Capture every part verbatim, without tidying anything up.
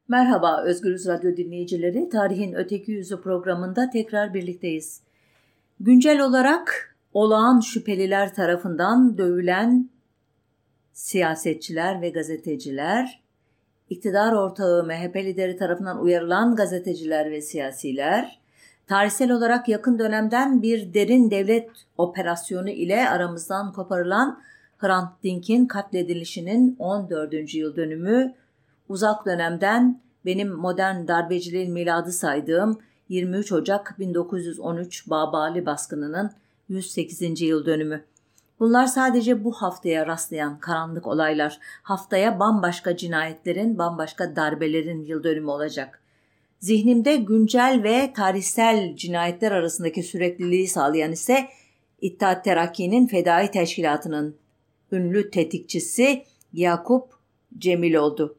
Merhaba Özgürüz Radyo dinleyicileri, Tarihin Öteki Yüzü programında tekrar birlikteyiz. Güncel olarak olağan şüpheliler tarafından dövülen siyasetçiler ve gazeteciler, iktidar ortağı M H P lideri tarafından uyarılan gazeteciler ve siyasiler, tarihsel olarak yakın dönemden bir derin devlet operasyonu ile aramızdan koparılan Hrant Dink'in katledilişinin on dördüncü yıl dönümü, uzak dönemden benim modern darbeciliğin miladı saydığım yirmi üç Ocak bin dokuz yüz on üç Babali baskınının yüz sekizinci yıl dönümü. Bunlar sadece bu haftaya rastlayan karanlık olaylar. Haftaya bambaşka cinayetlerin, bambaşka darbelerin yıl dönümü olacak. Zihnimde güncel ve tarihsel cinayetler arasındaki sürekliliği sağlayan ise İttihat Terakki'nin Fedai Teşkilatı'nın ünlü tetikçisi Yakup Cemil oldu.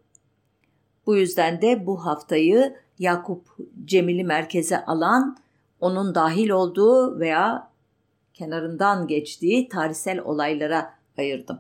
Bu yüzden de bu haftayı Yakup Cemil'i merkeze alan, onun dahil olduğu veya kenarından geçtiği tarihsel olaylara ayırdım.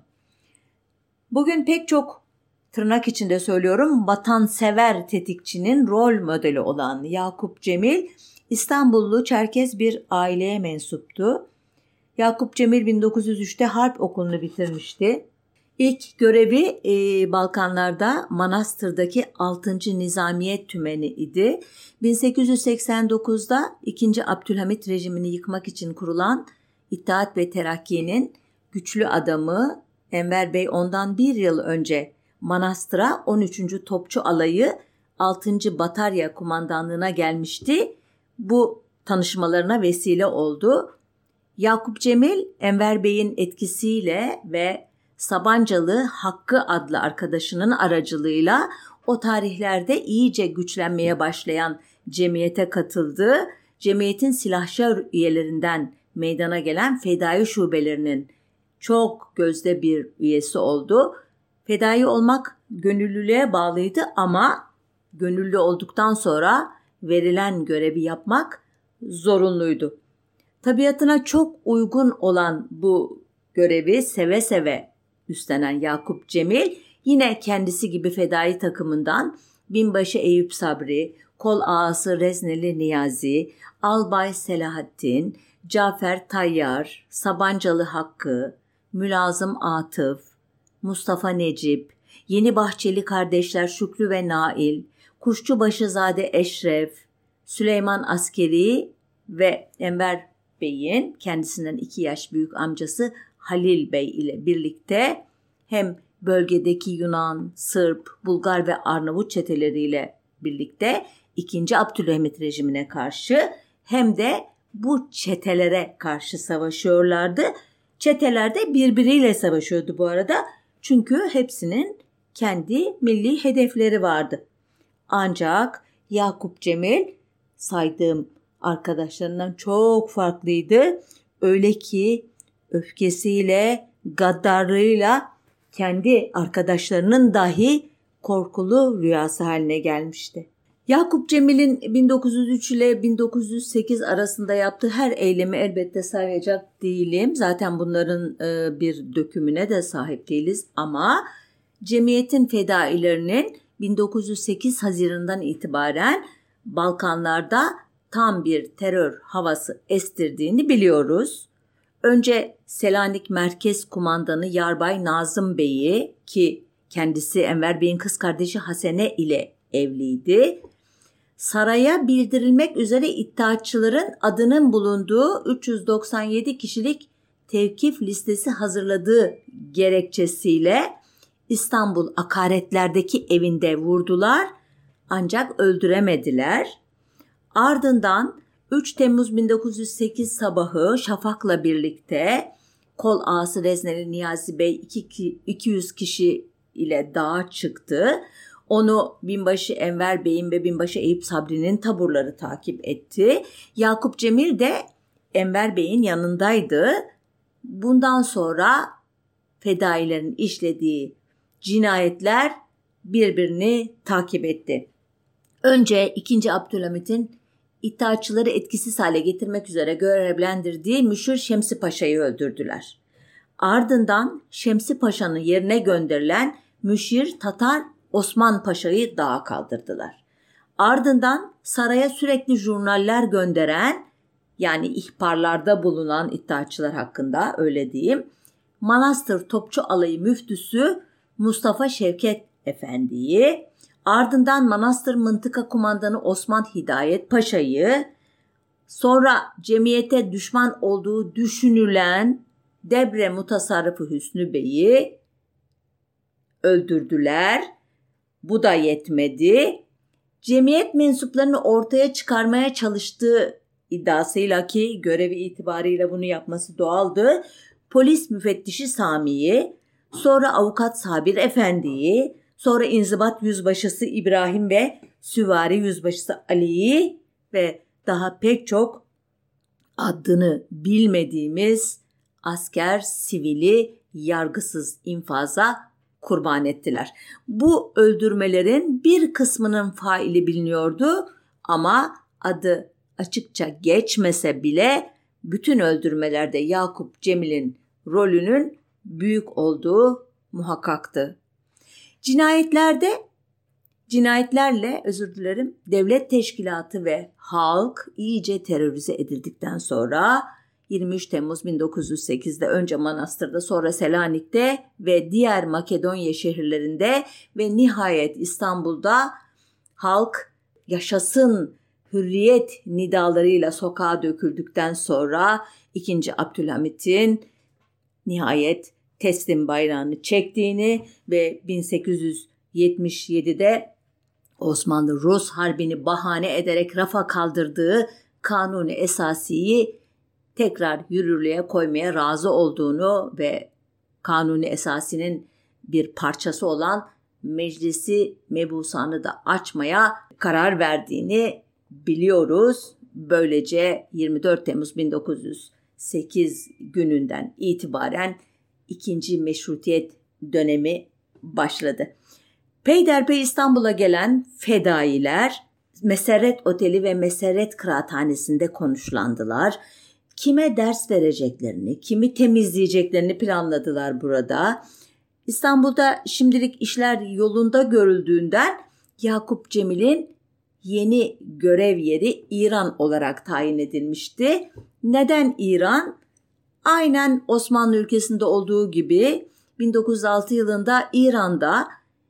Bugün pek çok, tırnak içinde söylüyorum, vatansever tetikçinin rol modeli olan Yakup Cemil, İstanbullu Çerkez bir aileye mensuptu. Yakup Cemil bin dokuz yüz üçte harp okulunu bitirmişti. İlk görevi e, Balkanlarda Manastır'daki altıncı Nizamiye Tümeni idi. bin sekiz yüz seksen dokuzda ikinci. Abdülhamit rejimini yıkmak için kurulan İttihat ve Terakki'nin güçlü adamı Enver Bey ondan bir yıl önce Manastır'a on üçüncü Topçu Alayı altıncı Batarya Kumandanlığına gelmişti. Bu tanışmalarına vesile oldu. Yakup Cemil, Enver Bey'in etkisiyle ve Sabancalı Hakkı adlı arkadaşının aracılığıyla o tarihlerde iyice güçlenmeye başlayan cemiyete katıldı. Cemiyetin silahşor üyelerinden meydana gelen fedai şubelerinin çok gözde bir üyesi oldu. Fedai olmak gönüllülüğe bağlıydı ama gönüllü olduktan sonra verilen görevi yapmak zorunluydu. Tabiatına çok uygun olan bu görevi seve seve üstlenen Yakup Cemil yine kendisi gibi fedai takımından Binbaşı Eyüp Sabri, Kol Ağası Rezneli Niyazi, Albay Selahattin, Cafer Tayyar, Sabancalı Hakkı, Mülazım Atıf, Mustafa Necip, Yeni Bahçeli kardeşler Şükrü ve Nail, Kuşçubaşızade Eşref, Süleyman Askeri ve Enver Bey'in kendisinden iki yaş büyük amcası Halil Bey ile birlikte hem bölgedeki Yunan, Sırp, Bulgar ve Arnavut çeteleriyle birlikte ikinci. Abdülhamit rejimine karşı hem de bu çetelere karşı savaşıyorlardı. Çeteler de birbiriyle savaşıyordu bu arada. Çünkü hepsinin kendi milli hedefleri vardı. Ancak Yakup Cemil saydığım arkadaşlarından çok farklıydı. Öyle ki öfkesiyle, gaddarlığıyla kendi arkadaşlarının dahi korkulu rüyası haline gelmişti. Yakup Cemil'in bin dokuz yüz üç ile bin dokuz yüz sekiz arasında yaptığı her eylemi elbette sayacak değilim. Zaten bunların e, bir dökümüne de sahip değiliz ama cemiyetin fedailerinin bin dokuz yüz sekiz Haziran'dan itibaren Balkanlarda tam bir terör havası estirdiğini biliyoruz. Önce Selanik Merkez Kumandanı Yarbay Nazım Bey'i, ki kendisi Enver Bey'in kız kardeşi Hasene ile evliydi, saraya bildirilmek üzere iddiatçıların adının bulunduğu üç yüz doksan yedi kişilik tevkif listesi hazırladığı gerekçesiyle İstanbul Akaretler'deki evinde vurdular ancak öldüremediler. Ardından üç Temmuz bin dokuz yüz sekiz sabahı Şafak'la birlikte Kol Ağası Rezneli Niyazi Bey iki yüz kişi ile dağa çıktı. Onu Binbaşı Enver Bey'in ve Binbaşı Eyüp Sabri'nin taburları takip etti. Yakup Cemil de Enver Bey'in yanındaydı. Bundan sonra fedailerin işlediği cinayetler birbirini takip etti. Önce ikinci. Abdülhamit'in İttihatçıları etkisiz hale getirmek üzere görevlendirdiği Müşir Şemsi Paşa'yı öldürdüler. Ardından Şemsi Paşa'nın yerine gönderilen Müşir Tatar Osman Paşa'yı dağa kaldırdılar. Ardından saraya sürekli jurnaller gönderen, yani ihbarlarda bulunan iddiaçılar hakkında öyle diyeyim, Manastır Topçu Alayı Müftüsü Mustafa Şevket Efendi'yi, ardından Manastır Mıntıka Kumandanı Osman Hidayet Paşa'yı, sonra cemiyete düşman olduğu düşünülen Debre Mutasarrıfı Hüsnü Bey'i öldürdüler. Bu da yetmedi. Cemiyet mensuplarını ortaya çıkarmaya çalıştığı iddiasıyla, ki görevi itibarıyla bunu yapması doğaldı, polis müfettişi Sami'yi, sonra avukat Sabir Efendi'yi, sonra inzibat yüzbaşısı İbrahim ve süvari yüzbaşısı Ali'yi ve daha pek çok adını bilmediğimiz asker, sivili yargısız infaza kurban ettiler. Bu öldürmelerin bir kısmının faili biliniyordu ama adı açıkça geçmese bile bütün öldürmelerde Yakup Cemil'in rolünün büyük olduğu muhakkaktı. Cinayetlerde, cinayetlerle özür dilerim, devlet teşkilatı ve halk iyice terörize edildikten sonra yirmi üç Temmuz bin dokuz yüz sekizde önce Manastır'da, sonra Selanik'te ve diğer Makedonya şehirlerinde ve nihayet İstanbul'da halk yaşasın hürriyet nidalarıyla sokağa döküldükten sonra ikinci. Abdülhamit'in nihayet teslim bayrağını çektiğini ve bin sekiz yüz yetmiş yedide Osmanlı-Rus harbini bahane ederek rafa kaldırdığı Kanuni Esasi'yi tekrar yürürlüğe koymaya razı olduğunu ve Kanuni Esasi'nin bir parçası olan Meclisi Mebusan'ı da açmaya karar verdiğini biliyoruz. Böylece yirmi dört Temmuz bin dokuz yüz sekiz gününden itibaren ikinci meşrutiyet dönemi başladı. Peyderpey İstanbul'a gelen fedailer Meserret Oteli ve Meserret Kıraathanesi'nde konuşlandılar. Kime ders vereceklerini, kimi temizleyeceklerini planladılar burada. İstanbul'da şimdilik işler yolunda görüldüğünden Yakup Cemil'in yeni görev yeri İran olarak tayin edilmişti. Neden İran? Aynen Osmanlı ülkesinde olduğu gibi bin dokuz yüz altı yılında İran'da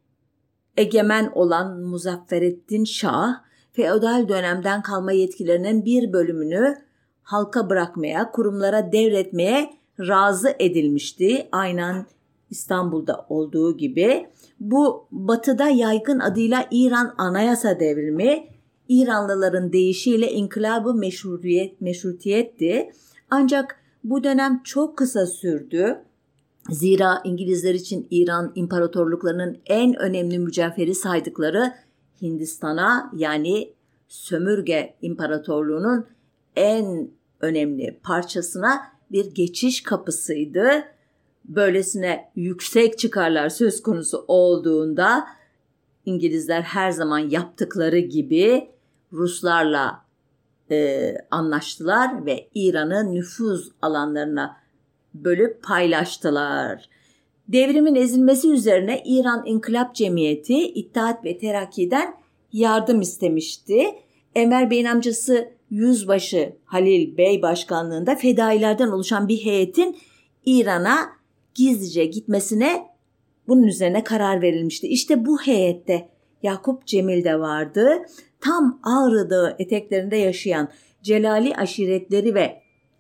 egemen olan Muzaffereddin Şah, feodal dönemden kalma yetkilerinin bir bölümünü halka bırakmaya, kurumlara devretmeye razı edilmişti. Aynen İstanbul'da olduğu gibi. Bu batıda yaygın adıyla İran Anayasa Devrimi, İranlıların deyişiyle İnkılab-ı Meşrutiyet, Meşrutiyetti. Ancak bu dönem çok kısa sürdü. Zira İngilizler için İran imparatorluklarının en önemli mücevheri saydıkları Hindistan'a, yani sömürge imparatorluğunun en önemli parçasına bir geçiş kapısıydı. Böylesine yüksek çıkarlar söz konusu olduğunda İngilizler her zaman yaptıkları gibi Ruslarla e, anlaştılar ve İran'ı nüfuz alanlarına bölüp paylaştılar. Devrimin ezilmesi üzerine İran İnkılap Cemiyeti İttihat ve Terakki'den yardım istemişti. Enver Bey'in amcası Yüzbaşı Halil Bey başkanlığında fedailerden oluşan bir heyetin İran'a gizlice gitmesine bunun üzerine karar verilmişti. İşte bu heyette Yakup Cemil de vardı. Tam Ağrı Dağı eteklerinde yaşayan Celali aşiretleri ve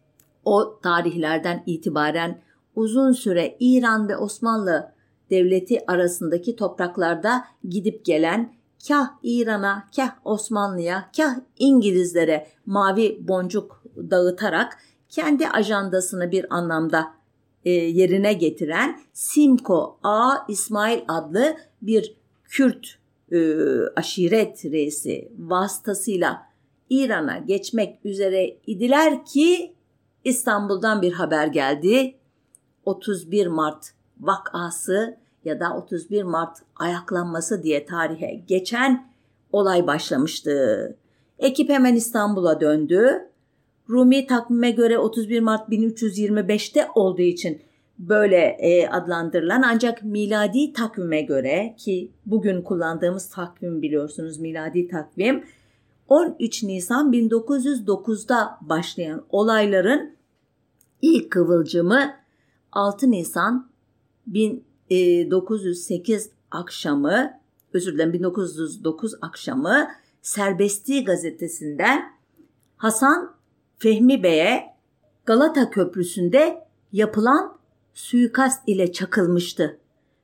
o tarihlerden itibaren uzun süre İran ve Osmanlı Devleti arasındaki topraklarda gidip gelen, kah İran'a, kah Osmanlı'ya, kah İngilizlere mavi boncuk dağıtarak kendi ajandasını bir anlamda e, yerine getiren Simko A. İsmail adlı bir Kürt e, aşiret reisi vasıtasıyla İran'a geçmek üzere idiler ki İstanbul'dan bir haber geldi. otuz bir Mart vakası ya da otuz bir Mart ayaklanması diye tarihe geçen olay başlamıştı. Ekip hemen İstanbul'a döndü. Rumi takvime göre otuz bir Mart bin üç yüz yirmi beşte olduğu için böyle e, adlandırılan, ancak miladi takvime göre, ki bugün kullandığımız takvim biliyorsunuz miladi takvim, on üç Nisan bin dokuz yüz dokuzda başlayan olayların ilk kıvılcımı altı Nisan bin dokuz yüz sekiz akşamı, özür dilerim bin dokuz yüz dokuz akşamı Serbestliği gazetesinden Hasan Fehmi Bey'e Galata Köprüsü'nde yapılan suikast ile çakılmıştı.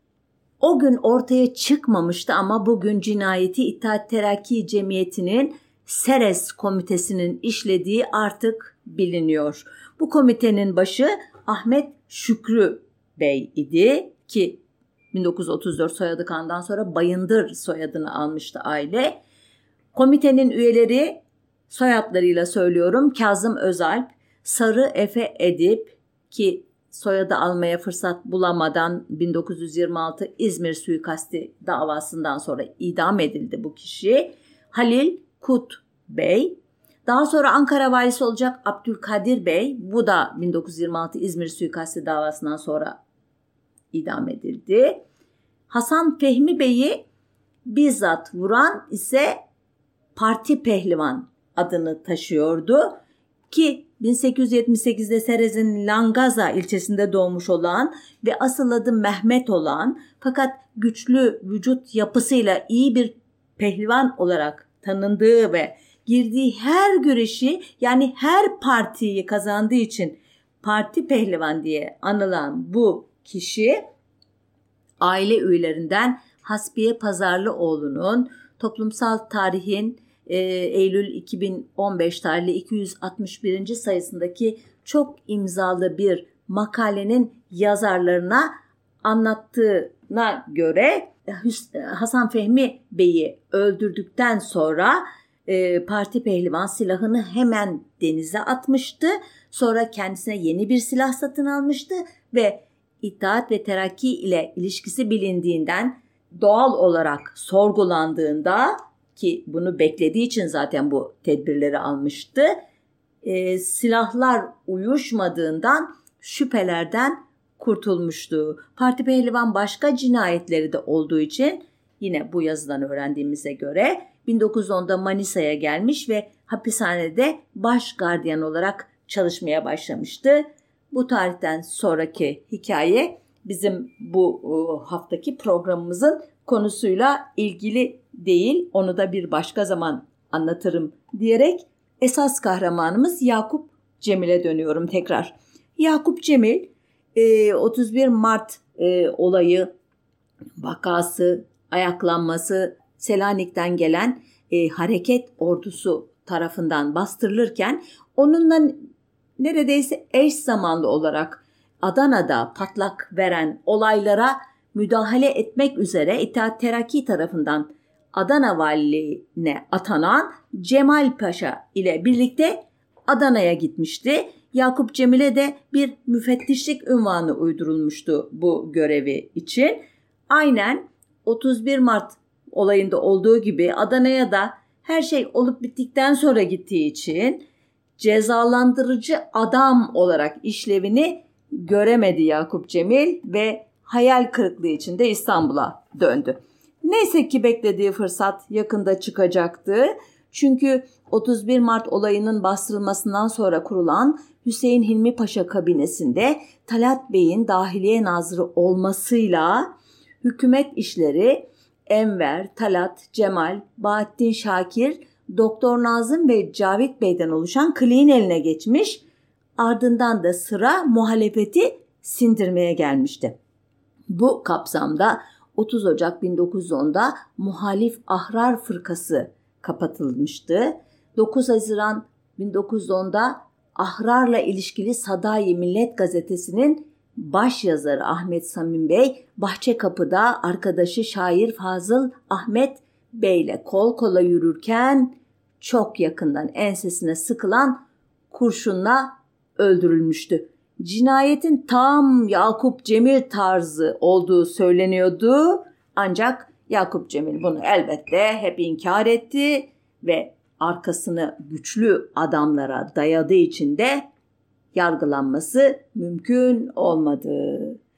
O gün ortaya çıkmamıştı ama bugün cinayeti İttihat Terakki Cemiyeti'nin Seres Komitesi'nin işlediği artık biliniyor. Bu komitenin başı Ahmet Şükrü Bey idi ki bin dokuz yüz otuz dört soyadı kandan sonra Bayındır soyadını almıştı aile. Komitenin üyeleri, soyadlarıyla söylüyorum: Kazım Özalp, Sarı Efe Edip ki soyadı almaya fırsat bulamadan bin dokuz yüz yirmi altı İzmir suikasti davasından sonra idam edildi bu kişi. Halil Kut Bey, daha sonra Ankara valisi olacak Abdülkadir Bey, bu da bin dokuz yüz yirmi altı İzmir suikasti davasından sonra idam edildi. Hasan Fehmi Bey'i bizzat vuran ise Parti Pehlivan adını taşıyordu ki bin sekiz yüz yetmiş sekizde Serez'in Langaza ilçesinde doğmuş olan ve asıl adı Mehmet olan, fakat güçlü vücut yapısıyla iyi bir pehlivan olarak tanındığı ve girdiği her güreşi, yani her partiyi kazandığı için Parti Pehlivan diye anılan bu kişi, aile üyelerinden Hasbiye Pazarlıoğlu'nun Toplumsal Tarihin e, Eylül iki bin on beş tarihli iki yüz altmış birinci sayısındaki çok imzalı bir makalenin yazarlarına anlattığına göre Hasan Fehmi Bey'i öldürdükten sonra e, Parti Pehlivan silahını hemen denize atmıştı. Sonra kendisine yeni bir silah satın almıştı ve İttihat ve Terakki ile ilişkisi bilindiğinden, doğal olarak sorgulandığında, ki bunu beklediği için zaten bu tedbirleri almıştı, e, silahlar uyuşmadığından şüphelerden kurtulmuştu. Parti Pehlivan başka cinayetleri de olduğu için, yine bu yazıdan öğrendiğimize göre bin dokuz yüz onda Manisa'ya gelmiş ve hapishanede baş gardiyan olarak çalışmaya başlamıştı. Bu tarihten sonraki hikaye bizim bu haftaki programımızın konusuyla ilgili değil. Onu da bir başka zaman anlatırım diyerek esas kahramanımız Yakup Cemil'e dönüyorum tekrar. Yakup Cemil otuz bir Mart olayı, vakası, ayaklanması Selanik'ten gelen hareket ordusu tarafından bastırılırken onunla neredeyse eş zamanlı olarak Adana'da patlak veren olaylara müdahale etmek üzere İttihat Terakki tarafından Adana valiliğine atanan Cemal Paşa ile birlikte Adana'ya gitmişti. Yakup Cemil'e de bir müfettişlik unvanı uydurulmuştu bu görevi için. Aynen otuz bir Mart olayında olduğu gibi Adana'ya da her şey olup bittikten sonra gittiği için cezalandırıcı adam olarak işlevini göremedi Yakup Cemil ve hayal kırıklığı içinde İstanbul'a döndü. Neyse ki beklediği fırsat yakında çıkacaktı. Çünkü otuz bir Mart olayının bastırılmasından sonra kurulan Hüseyin Hilmi Paşa kabinesinde Talat Bey'in Dahiliye Nazırı olmasıyla hükümet işleri Enver, Talat, Cemal, Bahattin Şakir, Doktor Nazım ve Cavit Bey'den oluşan kliğin eline geçmiş, ardından da sıra muhalefeti sindirmeye gelmişti. Bu kapsamda otuz Ocak bin dokuz yüz onda Muhalif Ahrar Fırkası kapatılmıştı. dokuz Haziran bin dokuz yüz onda Ahrar'la ilişkili Sadayi Millet Gazetesi'nin baş yazarı Ahmet Samim Bey, Bahçekapı'da arkadaşı şair Fazıl Ahmet Bey'le kol kola yürürken çok yakından ensesine sıkılan kurşunla öldürülmüştü. Cinayetin tam Yakup Cemil tarzı olduğu söyleniyordu. Ancak Yakup Cemil bunu elbette hep inkar etti ve arkasını güçlü adamlara dayadığı için de yargılanması mümkün olmadı.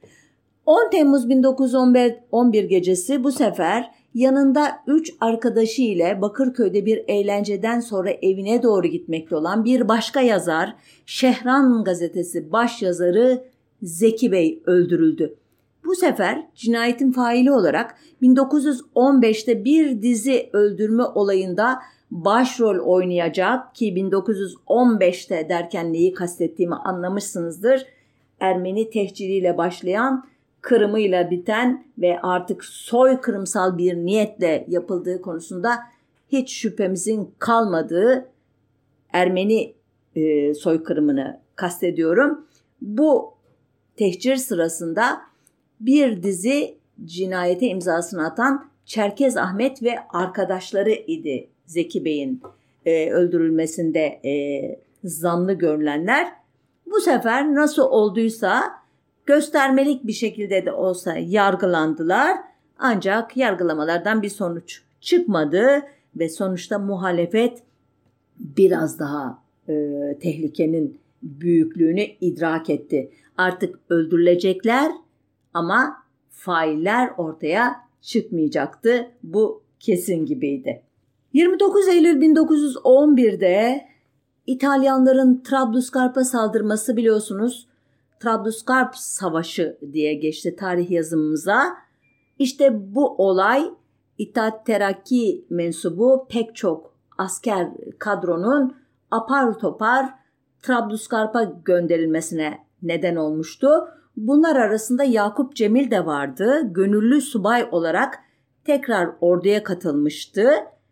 on Temmuz bin dokuz yüz on bir gecesi bu sefer yanında üç arkadaşı ile Bakırköy'de bir eğlenceden sonra evine doğru gitmekte olan bir başka yazar, Şehran Gazetesi başyazarı Zeki Bey öldürüldü. Bu sefer cinayetin faili olarak bin dokuz yüz on beşte bir dizi öldürme olayında başrol oynayacak ki bin dokuz yüz on beşte derken neyi kastettiğimi anlamışsınızdır. Ermeni tehciriyle başlayan, kırımıyla biten ve artık soykırımsal bir niyetle yapıldığı konusunda hiç şüphemizin kalmadığı Ermeni e, soykırımını kastediyorum. Bu tehcir sırasında bir dizi cinayete imzasını atan Çerkez Ahmet ve arkadaşları idi Zeki Bey'in e, öldürülmesinde e, zanlı görülenler. Bu sefer nasıl olduysa göstermelik bir şekilde de olsa yargılandılar. Ancak yargılamalardan bir sonuç çıkmadı ve sonuçta muhalefet biraz daha e, tehlikenin büyüklüğünü idrak etti. Artık öldürülecekler ama failler ortaya çıkmayacaktı. Bu kesin gibiydi. yirmi dokuz Eylül bin dokuz yüz on birde İtalyanların Trablusgarp'a saldırması, biliyorsunuz, Trablusgarp Savaşı diye geçti tarih yazımımıza. İşte bu olay İttihat Terakki mensubu pek çok asker kadronun apar topar Trablusgarp'a gönderilmesine neden olmuştu. Bunlar arasında Yakup Cemil de vardı. Gönüllü subay olarak tekrar orduya katılmıştı.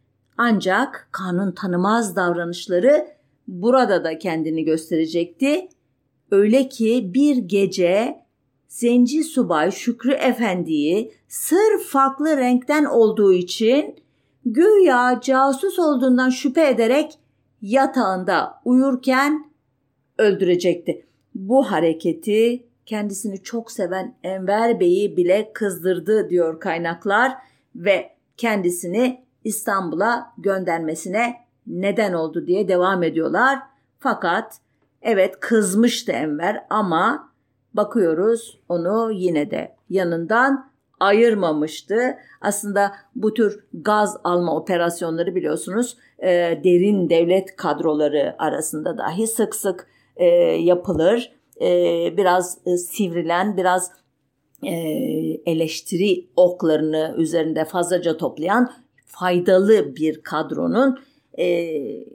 Ancak kanun tanımaz davranışları burada da kendini gösterecekti. Öyle ki bir gece Zenci subay Şükrü Efendi'yi sırf farklı renkten olduğu için güya casus olduğundan şüphe ederek yatağında uyurken öldürecekti. Bu hareketi kendisini çok seven Enver Bey'i bile kızdırdı diyor kaynaklar ve kendisini İstanbul'a göndermesine neden oldu diye devam ediyorlar. Fakat evet, kızmıştı Enver ama bakıyoruz onu yine de yanından ayırmamıştı. Aslında bu tür gaz alma operasyonları biliyorsunuz e, derin devlet kadroları arasında dahi sık sık e, yapılır. E, biraz e, sivrilen, biraz e, eleştiri oklarını üzerinde fazlaca toplayan faydalı bir kadronun e,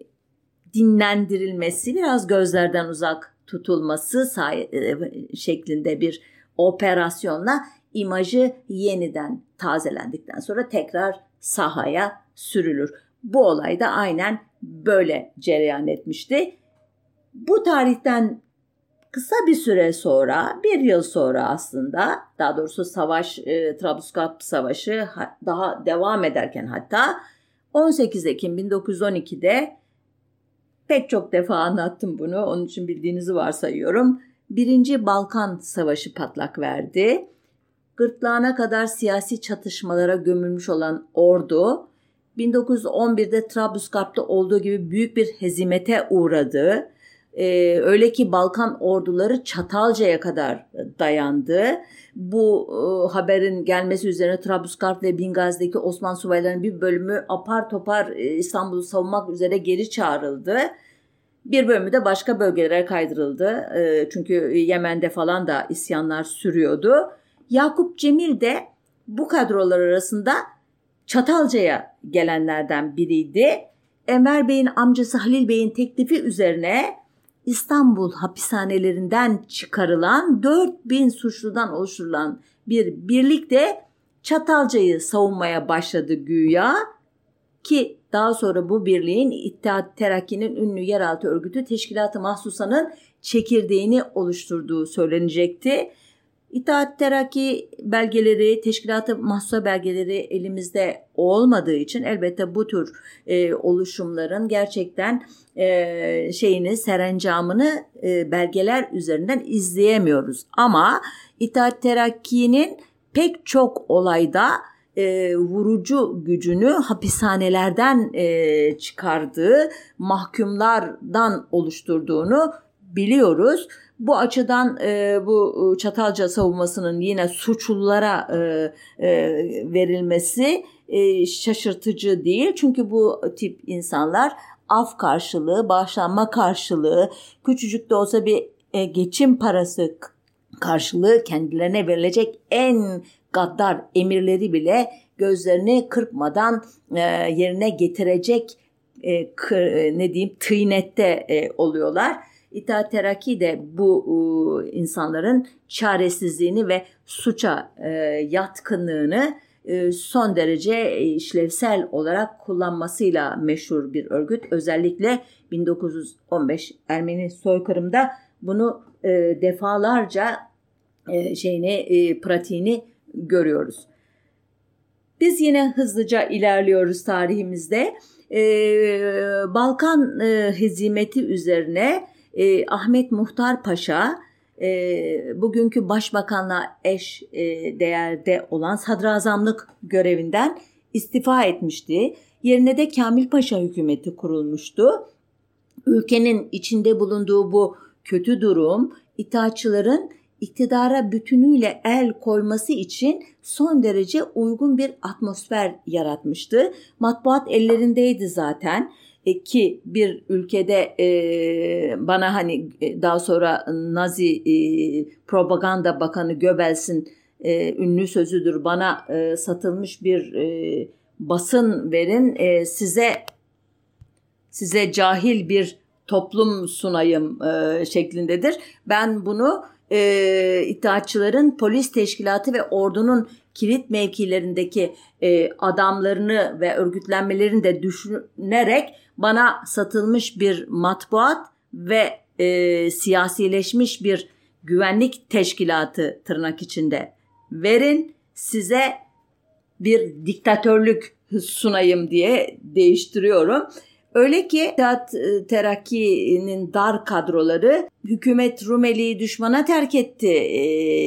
dinlendirilmesi, biraz gözlerden uzak tutulması say- şeklinde bir operasyonla imajı yeniden tazelendikten sonra tekrar sahaya sürülür. Bu olay da aynen böyle cereyan etmişti. Bu tarihten kısa bir süre sonra, bir yıl sonra aslında, daha doğrusu savaş, e, Trablusgarp Savaşı daha devam ederken, hatta on sekiz Ekim bin dokuz yüz on ikide pek çok defa anlattım bunu, onun için bildiğinizi varsayıyorum. Birinci Balkan Savaşı patlak verdi. Gırtlağına kadar siyasi çatışmalara gömülmüş olan ordu, bin dokuz yüz on birde Trablusgarp'ta olduğu gibi büyük bir hezimete uğradı. Ee, öyle ki Balkan orduları Çatalca'ya kadar dayandı. Bu e, haberin gelmesi üzerine Trablusgarp ve Bingazi'deki Osmanlı subaylarının bir bölümü apar topar e, İstanbul'u savunmak üzere geri çağrıldı. Bir bölümü de başka bölgelere kaydırıldı. E, çünkü Yemen'de falan da isyanlar sürüyordu. Yakup Cemil de bu kadrolar arasında Çatalca'ya gelenlerden biriydi. Enver Bey'in amcası Halil Bey'in teklifi üzerine İstanbul hapishanelerinden çıkarılan dört bin suçludan oluşturulan bir birlik de Çatalca'yı savunmaya başladı güya, ki daha sonra bu birliğin İttihat Terakki'nin ünlü yeraltı örgütü Teşkilat-ı Mahsusa'nın çekirdeğini oluşturduğu söylenecekti. İttihat Terakki belgeleri, Teşkilat-ı Mahsusa belgeleri elimizde olmadığı için elbette bu tür e, oluşumların gerçekten e, şeyini, serencamını e, belgeler üzerinden izleyemiyoruz. Ama İttihat Terakki'nin pek çok olayda e, vurucu gücünü hapishanelerden e, çıkardığı, mahkumlardan oluşturduğunu biliyoruz. Bu açıdan e, bu Çatalca savunmasının yine suçlulara e, e, verilmesi e, şaşırtıcı değil. Çünkü bu tip insanlar af karşılığı, bağışlanma karşılığı, küçücük de olsa bir e, geçim parası karşılığı kendilerine verilecek en gaddar emirleri bile gözlerini kırpmadan e, yerine getirecek e, kır, e, ne diyeyim tıynette e, oluyorlar. İttihat Terakki de bu e, insanların çaresizliğini ve suça e, yatkınlığını e, son derece işlevsel olarak kullanmasıyla meşhur bir örgüt. Özellikle bin dokuz yüz on beş Ermeni soykırımda bunu e, defalarca e, şeyini e, pratiğini görüyoruz. Biz yine hızlıca ilerliyoruz tarihimizde. E, Balkan e, hezimeti üzerine e, Ahmet Muhtar Paşa e, bugünkü başbakanla eş e, değerde olan sadrazamlık görevinden istifa etmişti. Yerine de Kamil Paşa hükümeti kurulmuştu. Ülkenin içinde bulunduğu bu kötü durum itaatçıların iktidara bütünüyle el koyması için son derece uygun bir atmosfer yaratmıştı. Matbuat ellerindeydi zaten e, ki bir ülkede e, bana hani daha sonra Nazi e, propaganda bakanı Göbels'in e, ünlü sözüdür, bana e, satılmış bir e, basın verin e, size size cahil bir toplum sunayım e, şeklindedir. Ben bunu e, İttihatçıların polis teşkilatı ve ordunun kilit mevkilerindeki e, adamlarını ve örgütlenmelerini de düşünerek bana satılmış bir matbuat ve e, siyasileşmiş bir güvenlik teşkilatı tırnak içinde verin, size bir diktatörlük sunayım diye değiştiriyorum. Öyle ki İttihat Terakki'nin dar kadroları hükümet Rumeli'yi düşmana terk etti e,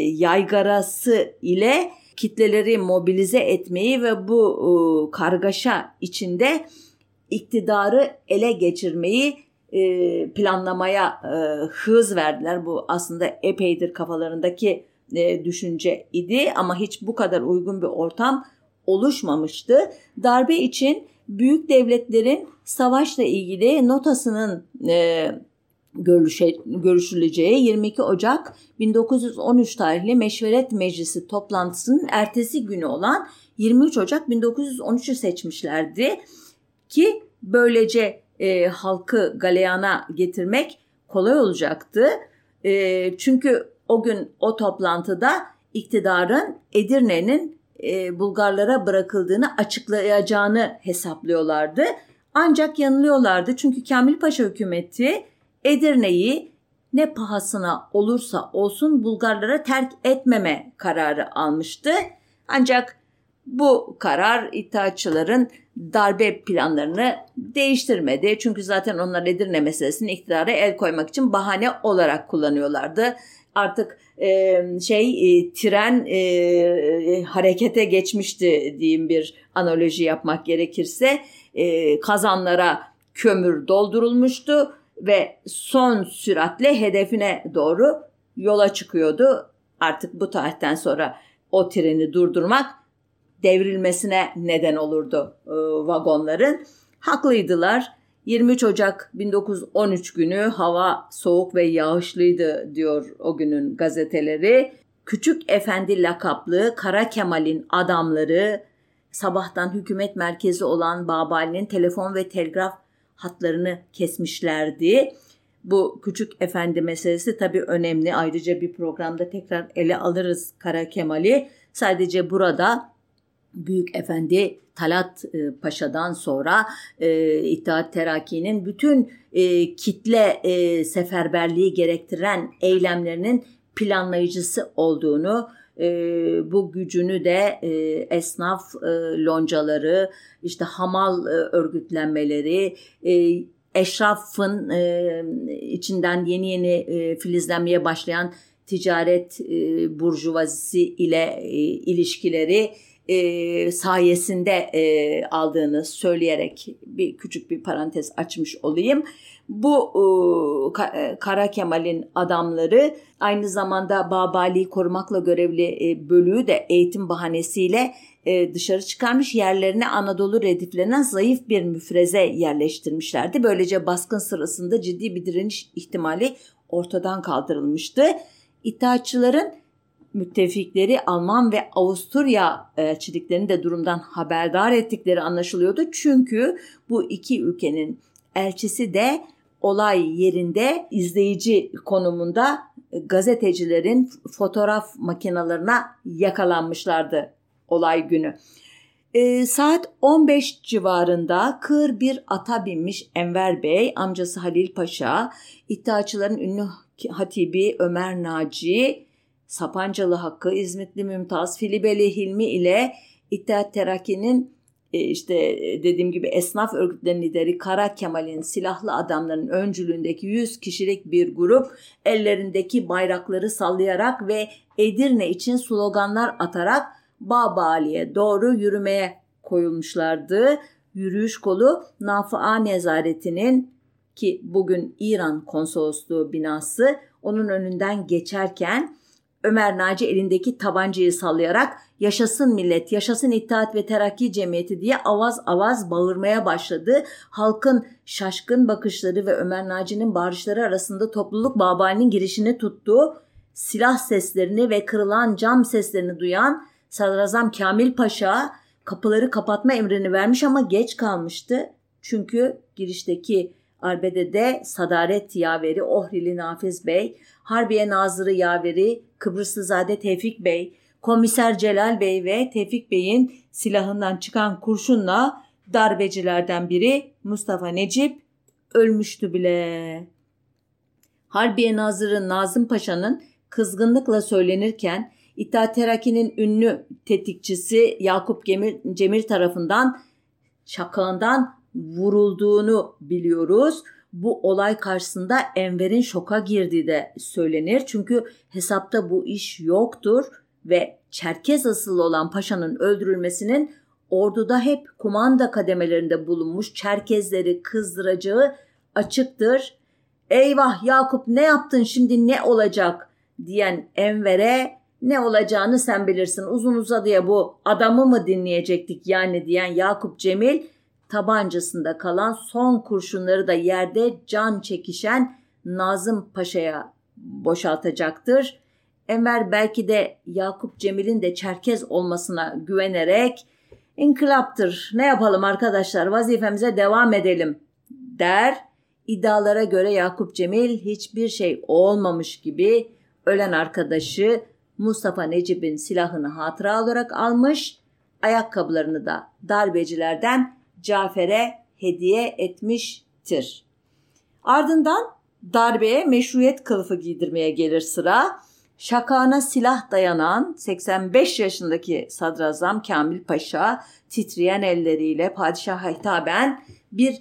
yaygarası ile kitleleri mobilize etmeyi ve bu e, kargaşa içinde iktidarı ele geçirmeyi e, planlamaya e, hız verdiler. Bu aslında epeydir kafalarındaki e, düşünce idi ama hiç bu kadar uygun bir ortam oluşmamıştı. Darbe için büyük devletlerin savaşla ilgili notasının e, görüşe, görüşüleceği yirmi iki Ocak bin dokuz yüz on üç tarihli Meşveret Meclisi toplantısının ertesi günü olan yirmi üç Ocak bin dokuz yüz on üçü seçmişlerdi ki böylece e, halkı galeyana getirmek kolay olacaktı. E, çünkü o gün o toplantıda iktidarın Edirne'nin e, Bulgarlara bırakıldığını açıklayacağını hesaplıyorlardı. Ancak yanılıyorlardı çünkü Kamil Paşa hükümeti Edirne'yi ne pahasına olursa olsun Bulgarlara terk etmeme kararı almıştı. Ancak bu karar İttihatçıların darbe planlarını değiştirmedi. Çünkü zaten onlar Edirne meselesini iktidara el koymak için bahane olarak kullanıyorlardı. Artık e, şey e, tren e, harekete geçmişti diyeyim, bir analoji yapmak gerekirse. E, kazanlara kömür doldurulmuştu ve son süratle hedefine doğru yola çıkıyordu. Artık bu tarihten sonra o treni durdurmak devrilmesine neden olurdu e, vagonların. Haklıydılar. yirmi üç Ocak bin dokuz yüz on üç günü hava soğuk ve yağışlıydı diyor o günün gazeteleri. Küçük Efendi lakaplı Kara Kemal'in adamları sabahtan hükümet merkezi olan Babali'nin telefon ve telgraf hatlarını kesmişlerdi. Bu Küçük Efendi meselesi tabii önemli. Ayrıca bir programda tekrar ele alırız Kara Kemal'i. Sadece burada Büyük Efendi Talat Paşa'dan sonra e, İttihat Terakki'nin bütün e, kitle e, seferberliği gerektiren eylemlerinin planlayıcısı olduğunu, e, bu gücünü de e, esnaf e, loncaları, işte hamal e, örgütlenmeleri, e, eşrafın e, içinden yeni yeni e, filizlenmeye başlayan ticaret e, burjuvazisi ile e, ilişkileri, e, sayesinde e, aldığını söyleyerek bir küçük bir parantez açmış olayım. Bu e, Kara Kemal'in adamları aynı zamanda Babali'yi korumakla görevli e, bölüğü de eğitim bahanesiyle e, dışarı çıkarmış, yerlerine Anadolu rediflerinden zayıf bir müfreze yerleştirmişlerdi. Böylece baskın sırasında ciddi bir direniş ihtimali ortadan kaldırılmıştı. İttihatçıların müttefikleri Alman ve Avusturya elçiliklerini de durumdan haberdar ettikleri anlaşılıyordu. Çünkü bu iki ülkenin elçisi de olay yerinde izleyici konumunda gazetecilerin fotoğraf makinelerine yakalanmışlardı olay günü. E, saat on beş civarında kır bir ata binmiş Enver Bey, amcası Halil Paşa, İttihatçıların ünlü hatibi Ömer Naci, Sapancalı Hakkı, İzmitli Mümtaz, Filibeli Hilmi ile İttihat Terakki'nin e, işte dediğim gibi esnaf örgütlerinin lideri Kara Kemal'in silahlı adamların öncülüğündeki yüz kişilik bir grup ellerindeki bayrakları sallayarak ve Edirne için sloganlar atarak Babali'ye doğru yürümeye koyulmuşlardı. Yürüyüş kolu Nafıa Nezareti'nin, ki bugün İran Konsolosluğu binası, onun önünden geçerken Ömer Naci elindeki tabancayı sallayarak "Yaşasın millet, yaşasın İttihat ve Terakki Cemiyeti" diye avaz avaz bağırmaya başladı. Halkın şaşkın bakışları ve Ömer Naci'nin bağırışları arasında topluluk Babali'nin girişini tuttu. Silah seslerini ve kırılan cam seslerini duyan Sadrazam Kamil Paşa kapıları kapatma emrini vermiş ama geç kalmıştı. Çünkü girişteki arbedede Sadaret Yaveri Ohrili Nafiz Bey, Harbiye Nazırı Yaveri Kıbrıslızade Tevfik Bey, Komiser Celal Bey ve Tevfik Bey'in silahından çıkan kurşunla darbecilerden biri Mustafa Necip ölmüştü bile. Harbiye Nazırı Nazım Paşa'nın kızgınlıkla söylenirken İttihat Terakki'nin ünlü tetikçisi Yakup Cemil tarafından şakağından vurulduğunu biliyoruz. Bu olay karşısında Enver'in şoka girdiği de söylenir. Çünkü hesapta bu iş yoktur ve Çerkez asıllı olan paşanın öldürülmesinin orduda hep kumanda kademelerinde bulunmuş Çerkezleri kızdıracağı açıktır. "Eyvah Yakup, ne yaptın şimdi, ne olacak?" diyen Enver'e "Ne olacağını sen bilirsin, uzun uzadıya bu adamı mı dinleyecektik yani?" diyen Yakup Cemil tabancasında kalan son kurşunları da yerde can çekişen Nazım Paşa'ya boşaltacaktır. Enver belki de Yakup Cemil'in de Çerkez olmasına güvenerek "İnkılaptır, ne yapalım arkadaşlar, vazifemize devam edelim" der. İddialara göre Yakup Cemil hiçbir şey olmamış gibi ölen arkadaşı Mustafa Necip'in silahını hatıra olarak almış, ayakkabılarını da darbecilerden Cafer'e hediye etmiştir. Ardından darbeye meşruiyet kılıfı giydirmeye gelir sıra. Şakağına silah dayanan seksen beş yaşındaki Sadrazam Kamil Paşa titreyen elleriyle padişaha hitaben bir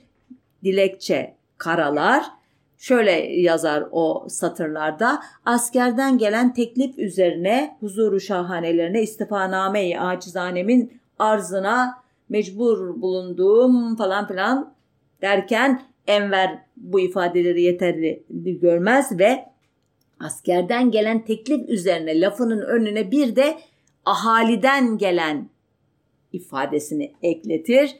dilekçe karalar. Şöyle yazar o satırlarda: "Askerden gelen teklif üzerine huzuru şahanelerine istifaname-i acizanemin arzına mecbur bulunduğum" falan filan derken Enver bu ifadeleri yeterli görmez ve askerden gelen teklif üzerine lafının önüne bir de ahaliden gelen ifadesini ekletir.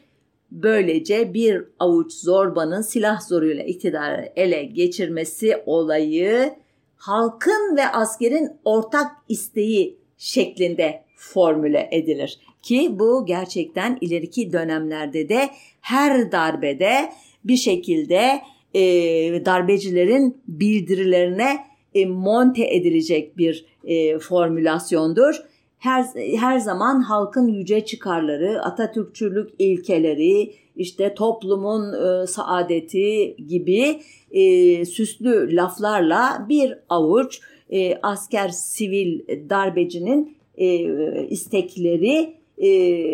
Böylece bir avuç zorbanın silah zoruyla iktidarı ele geçirmesi olayı halkın ve askerin ortak isteği şeklinde formüle edilir. Ki bu gerçekten ileriki dönemlerde de her darbede bir şekilde e, darbecilerin bildirilerine e, monte edilecek bir e, formülasyondur. Her, her zaman halkın yüce çıkarları, Atatürkçülük ilkeleri, işte toplumun e, saadeti gibi e, süslü laflarla bir avuç e, asker, sivil darbecinin e, istekleri e,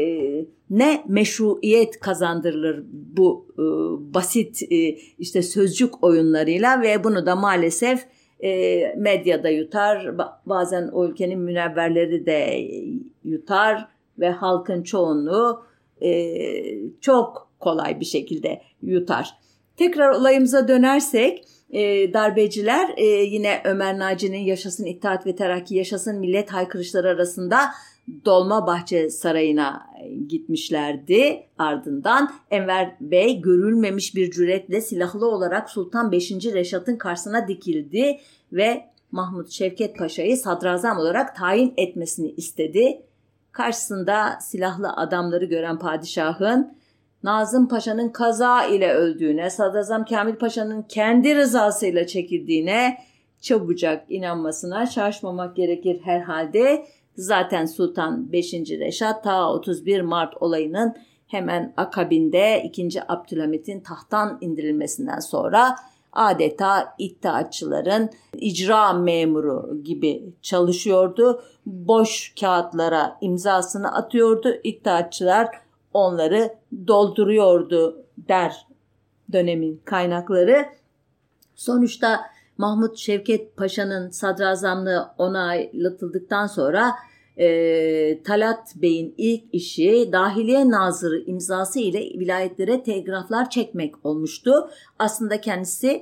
ne meşruiyet kazandırılır bu e, basit e, işte sözcük oyunlarıyla ve bunu da maalesef E, medyada yutar, bazen o ülkenin münevverleri de yutar, ve halkın çoğunluğu e, çok kolay bir şekilde yutar. Tekrar olayımıza dönersek, e, darbeciler e, yine Ömer Naci'nin "Yaşasın İttihat ve Terakki, Yaşasın Millet" haykırışları arasında Dolmabahçe Sarayı'na gitmişlerdi. Ardından Enver Bey görülmemiş bir cüretle silahlı olarak Sultan beşinci. Reşat'ın karşısına dikildi ve Mahmut Şevket Paşa'yı sadrazam olarak tayin etmesini istedi. Karşısında silahlı adamları gören padişahın Nazım Paşa'nın kaza ile öldüğüne, Sadrazam Kamil Paşa'nın kendi rızasıyla çekildiğine çabucak inanmasına şaşmamak gerekir herhalde. Zaten Sultan beşinci. Reşat ta otuz bir Mart olayının hemen akabinde ikinci. Abdülhamit'in tahttan indirilmesinden sonra adeta İttihatçıların icra memuru gibi çalışıyordu. Boş kağıtlara imzasını atıyordu. İttihatçılar onları dolduruyordu der dönemin kaynakları. Sonuçta Mahmut Şevket Paşa'nın sadrazamlığı onaylatıldıktan sonra e, Talat Bey'in ilk işi Dahiliye Nazırı imzası ile vilayetlere telgraflar çekmek olmuştu. Aslında kendisi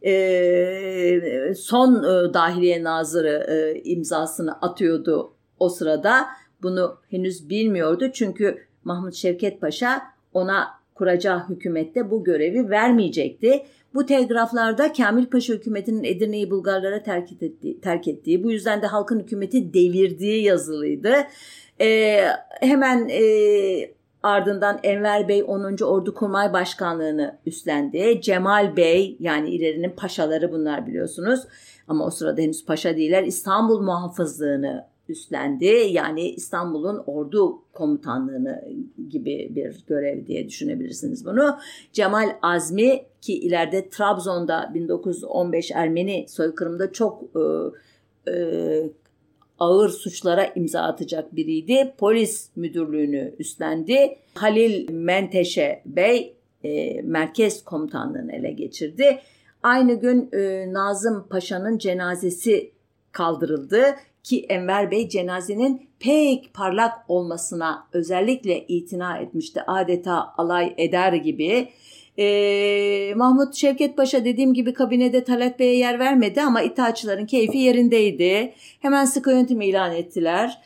e, son e, Dahiliye Nazırı e, imzasını atıyordu o sırada. Bunu henüz bilmiyordu çünkü Mahmut Şevket Paşa ona kuracağı hükümette bu görevi vermeyecekti. Bu telgraflarda Kamil Paşa hükümetinin Edirne'yi Bulgarlara terk ettiği, terk ettiği, bu yüzden de halkın hükümeti devirdiği yazılıydı. Ee, hemen e, ardından Enver Bey onuncu. Ordukurmay Başkanlığı'nı üstlendi. Cemal Bey, yani ilerinin paşaları bunlar biliyorsunuz ama o sırada henüz paşa değiller, İstanbul Muhafızlığı'nı üstlendi. Yani İstanbul'un ordu komutanlığını gibi bir görev diye düşünebilirsiniz bunu. Cemal Azmi, ki ileride Trabzon'da bin dokuz yüz on beş Ermeni soykırımında çok e, e, ağır suçlara imza atacak biriydi. Polis müdürlüğünü üstlendi. Halil Menteşe Bey e, merkez komutanlığını ele geçirdi. Aynı gün e, Nazım Paşa'nın cenazesi kaldırıldı. Ki Enver Bey cenazenin pek parlak olmasına özellikle itina etmişti. Adeta alay eder gibi. Ee, Mahmut Şevket Paşa dediğim gibi kabinede Talat Bey'e yer vermedi ama İttihatçıların keyfi yerindeydi. Hemen sıkı yönetim ilan ettiler.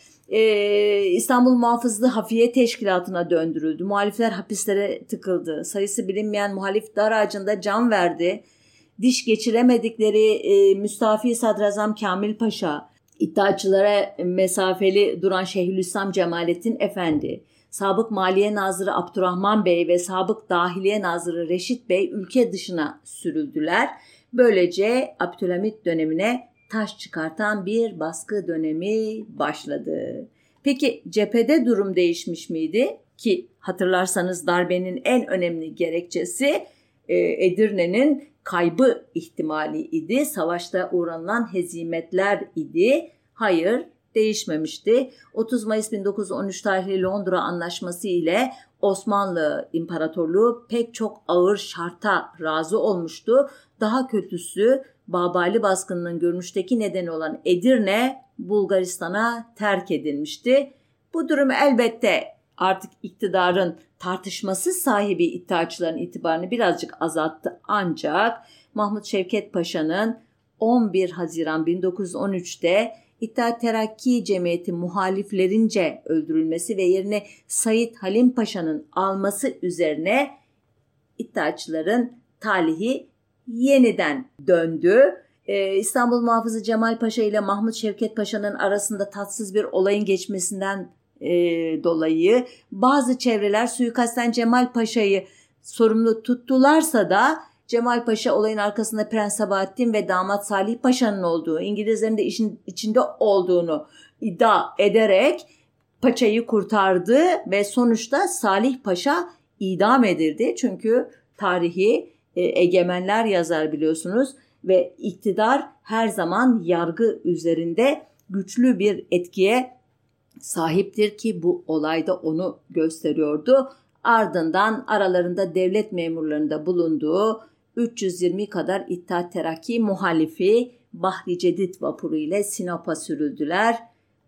Ee, İstanbul Muhafızlığı Hafiye Teşkilatı'na döndürüldü. Muhalifler hapislere tıkıldı. Sayısı bilinmeyen muhalif dar ağacında can verdi. Diş geçiremedikleri e, Müstafi Sadrazam Kamil Paşa, İttihatçılara mesafeli duran Şeyhülislam Cemalettin Efendi, Sabık Maliye Nazırı Abdurrahman Bey ve Sabık Dahiliye Nazırı Reşit Bey ülke dışına sürüldüler. Böylece Abdülhamit dönemine taş çıkartan bir baskı dönemi başladı. Peki cephede durum değişmiş miydi? Ki hatırlarsanız darbenin en önemli gerekçesi Edirne'nin kaybı ihtimali idi. Savaşta uğranılan hezimetler idi. Hayır, değişmemişti. otuz Mayıs bin dokuz yüz on üç tarihli Londra Anlaşması ile Osmanlı İmparatorluğu pek çok ağır şarta razı olmuştu. Daha kötüsü, Babali baskınının görünüşteki nedeni olan Edirne Bulgaristan'a terk edilmişti. Bu durum elbette artık iktidarın tartışmasız sahibi İttihatçıların itibarını birazcık azalttı, ancak Mahmut Şevket Paşa'nın on bir Haziran bin dokuz yüz on üçte İttihat Terakki Cemiyeti muhaliflerince öldürülmesi ve yerine Said Halim Paşa'nın alması üzerine İttihatçıların talihi yeniden döndü. Ee, İstanbul Muhafızı Cemal Paşa ile Mahmut Şevket Paşa'nın arasında tatsız bir olayın geçmesinden e, dolayı bazı çevreler suikastten Cemal Paşa'yı sorumlu tuttularsa da Cemal Paşa olayın arkasında Prens Sabahattin ve damat Salih Paşa'nın olduğu, İngilizlerin de işin içinde olduğunu iddia ederek paçayı kurtardı ve sonuçta Salih Paşa idam edildi. Çünkü tarihi e, egemenler yazar biliyorsunuz ve iktidar her zaman yargı üzerinde güçlü bir etkiye sahiptir ki bu olayda onu gösteriyordu. Ardından aralarında devlet memurlarında bulunduğu üç yüz yirmi kadar İttihat Terakki muhalifi Bahri Cedid vapuru ile Sinop'a sürüldüler.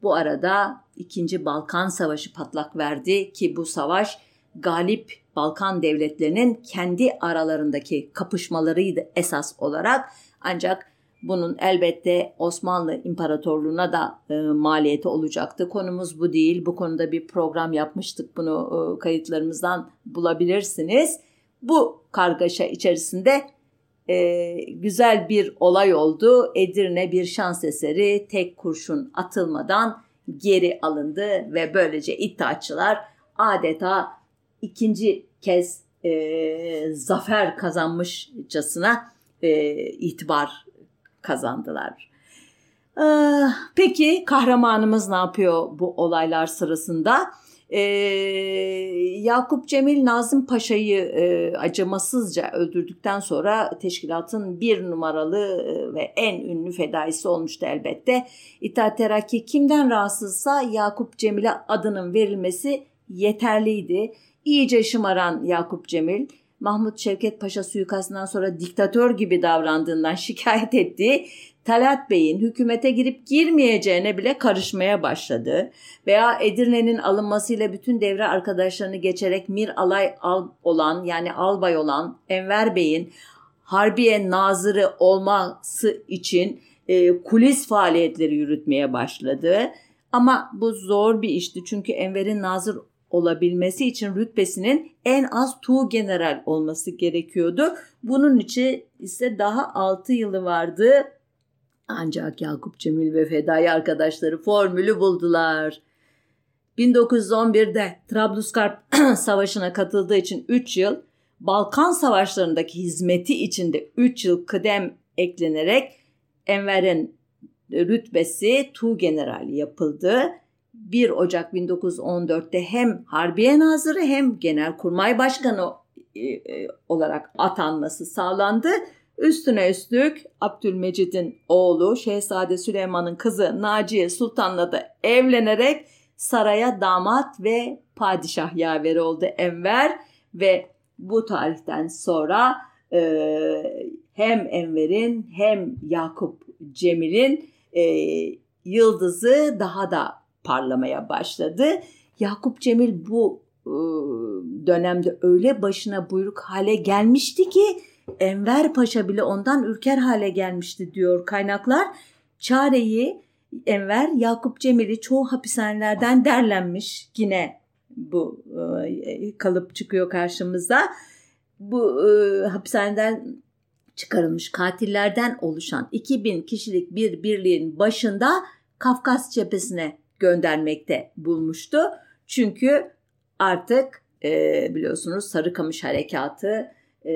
Bu arada İkinci Balkan Savaşı patlak verdi ki bu savaş galip Balkan devletlerinin kendi aralarındaki kapışmalarıydı esas olarak. Ancak bunun elbette Osmanlı İmparatorluğu'na da e, maliyeti olacaktı. Konumuz bu değil. Bu konuda bir program yapmıştık. Bunu e, kayıtlarımızdan bulabilirsiniz. Bu kargaşa içerisinde e, güzel bir olay oldu. Edirne bir şans eseri tek kurşun atılmadan geri alındı ve böylece İttihatçılar adeta ikinci kez e, zafer kazanmışçasına e, itibar kazandılar. Ee, peki kahramanımız ne yapıyor bu olaylar sırasında? Ee, Yakup Cemil Nazım Paşa'yı e, acımasızca öldürdükten sonra teşkilatın bir numaralı ve en ünlü fedaisi olmuştu elbette. İttihat Terakki kimden rahatsızsa Yakup Cemil'e adının verilmesi yeterliydi. İyice şımaran Yakup Cemil, Mahmut Şevket Paşa suikastından sonra diktatör gibi davrandığından şikayet ettiği Talat Bey'in hükümete girip girmeyeceğine bile karışmaya başladı. Veya Edirne'nin alınmasıyla bütün devre arkadaşlarını geçerek Mir Alay al olan yani albay olan Enver Bey'in Harbiye Nazırı olması için e, kulis faaliyetleri yürütmeye başladı. Ama bu zor bir işti çünkü Enver'in nazır olabilmesi için rütbesinin en az tuğgeneral olması gerekiyordu. Bunun için ise daha altı yılı vardı. Ancak Yakup Cemil ve fedai arkadaşları formülü buldular. bin dokuz yüz on birde Trablusgarp Savaşı'na katıldığı için üç yıl, Balkan Savaşları'ndaki hizmeti için de üç yıl kıdem eklenerek Enver'in rütbesi tuğgeneral yapıldı. bir Ocak bin dokuz yüz on dörtte hem Harbiye Nazırı hem Genelkurmay Başkanı olarak atanması sağlandı. Üstüne üstlük Abdülmecid'in oğlu Şehzade Süleyman'ın kızı Naciye Sultan'la da evlenerek saraya damat ve padişah yaveri oldu Enver ve bu tarihten sonra e, hem Enver'in hem Yakup Cemil'in e, yıldızı daha da parlamaya başladı. Yakup Cemil bu e, dönemde öyle başına buyruk hale gelmişti ki Enver Paşa bile ondan ürker hale gelmişti diyor kaynaklar. Çareyi Enver Yakup Cemil'i çoğu hapishanelerden derlenmiş. Yine bu e, kalıp çıkıyor karşımıza. Bu e, hapishaneden çıkarılmış katillerden oluşan iki bin kişilik bir birliğin başında Kafkas cephesine göndermekte bulmuştu. Çünkü artık e, biliyorsunuz Sarıkamış Harekatı e,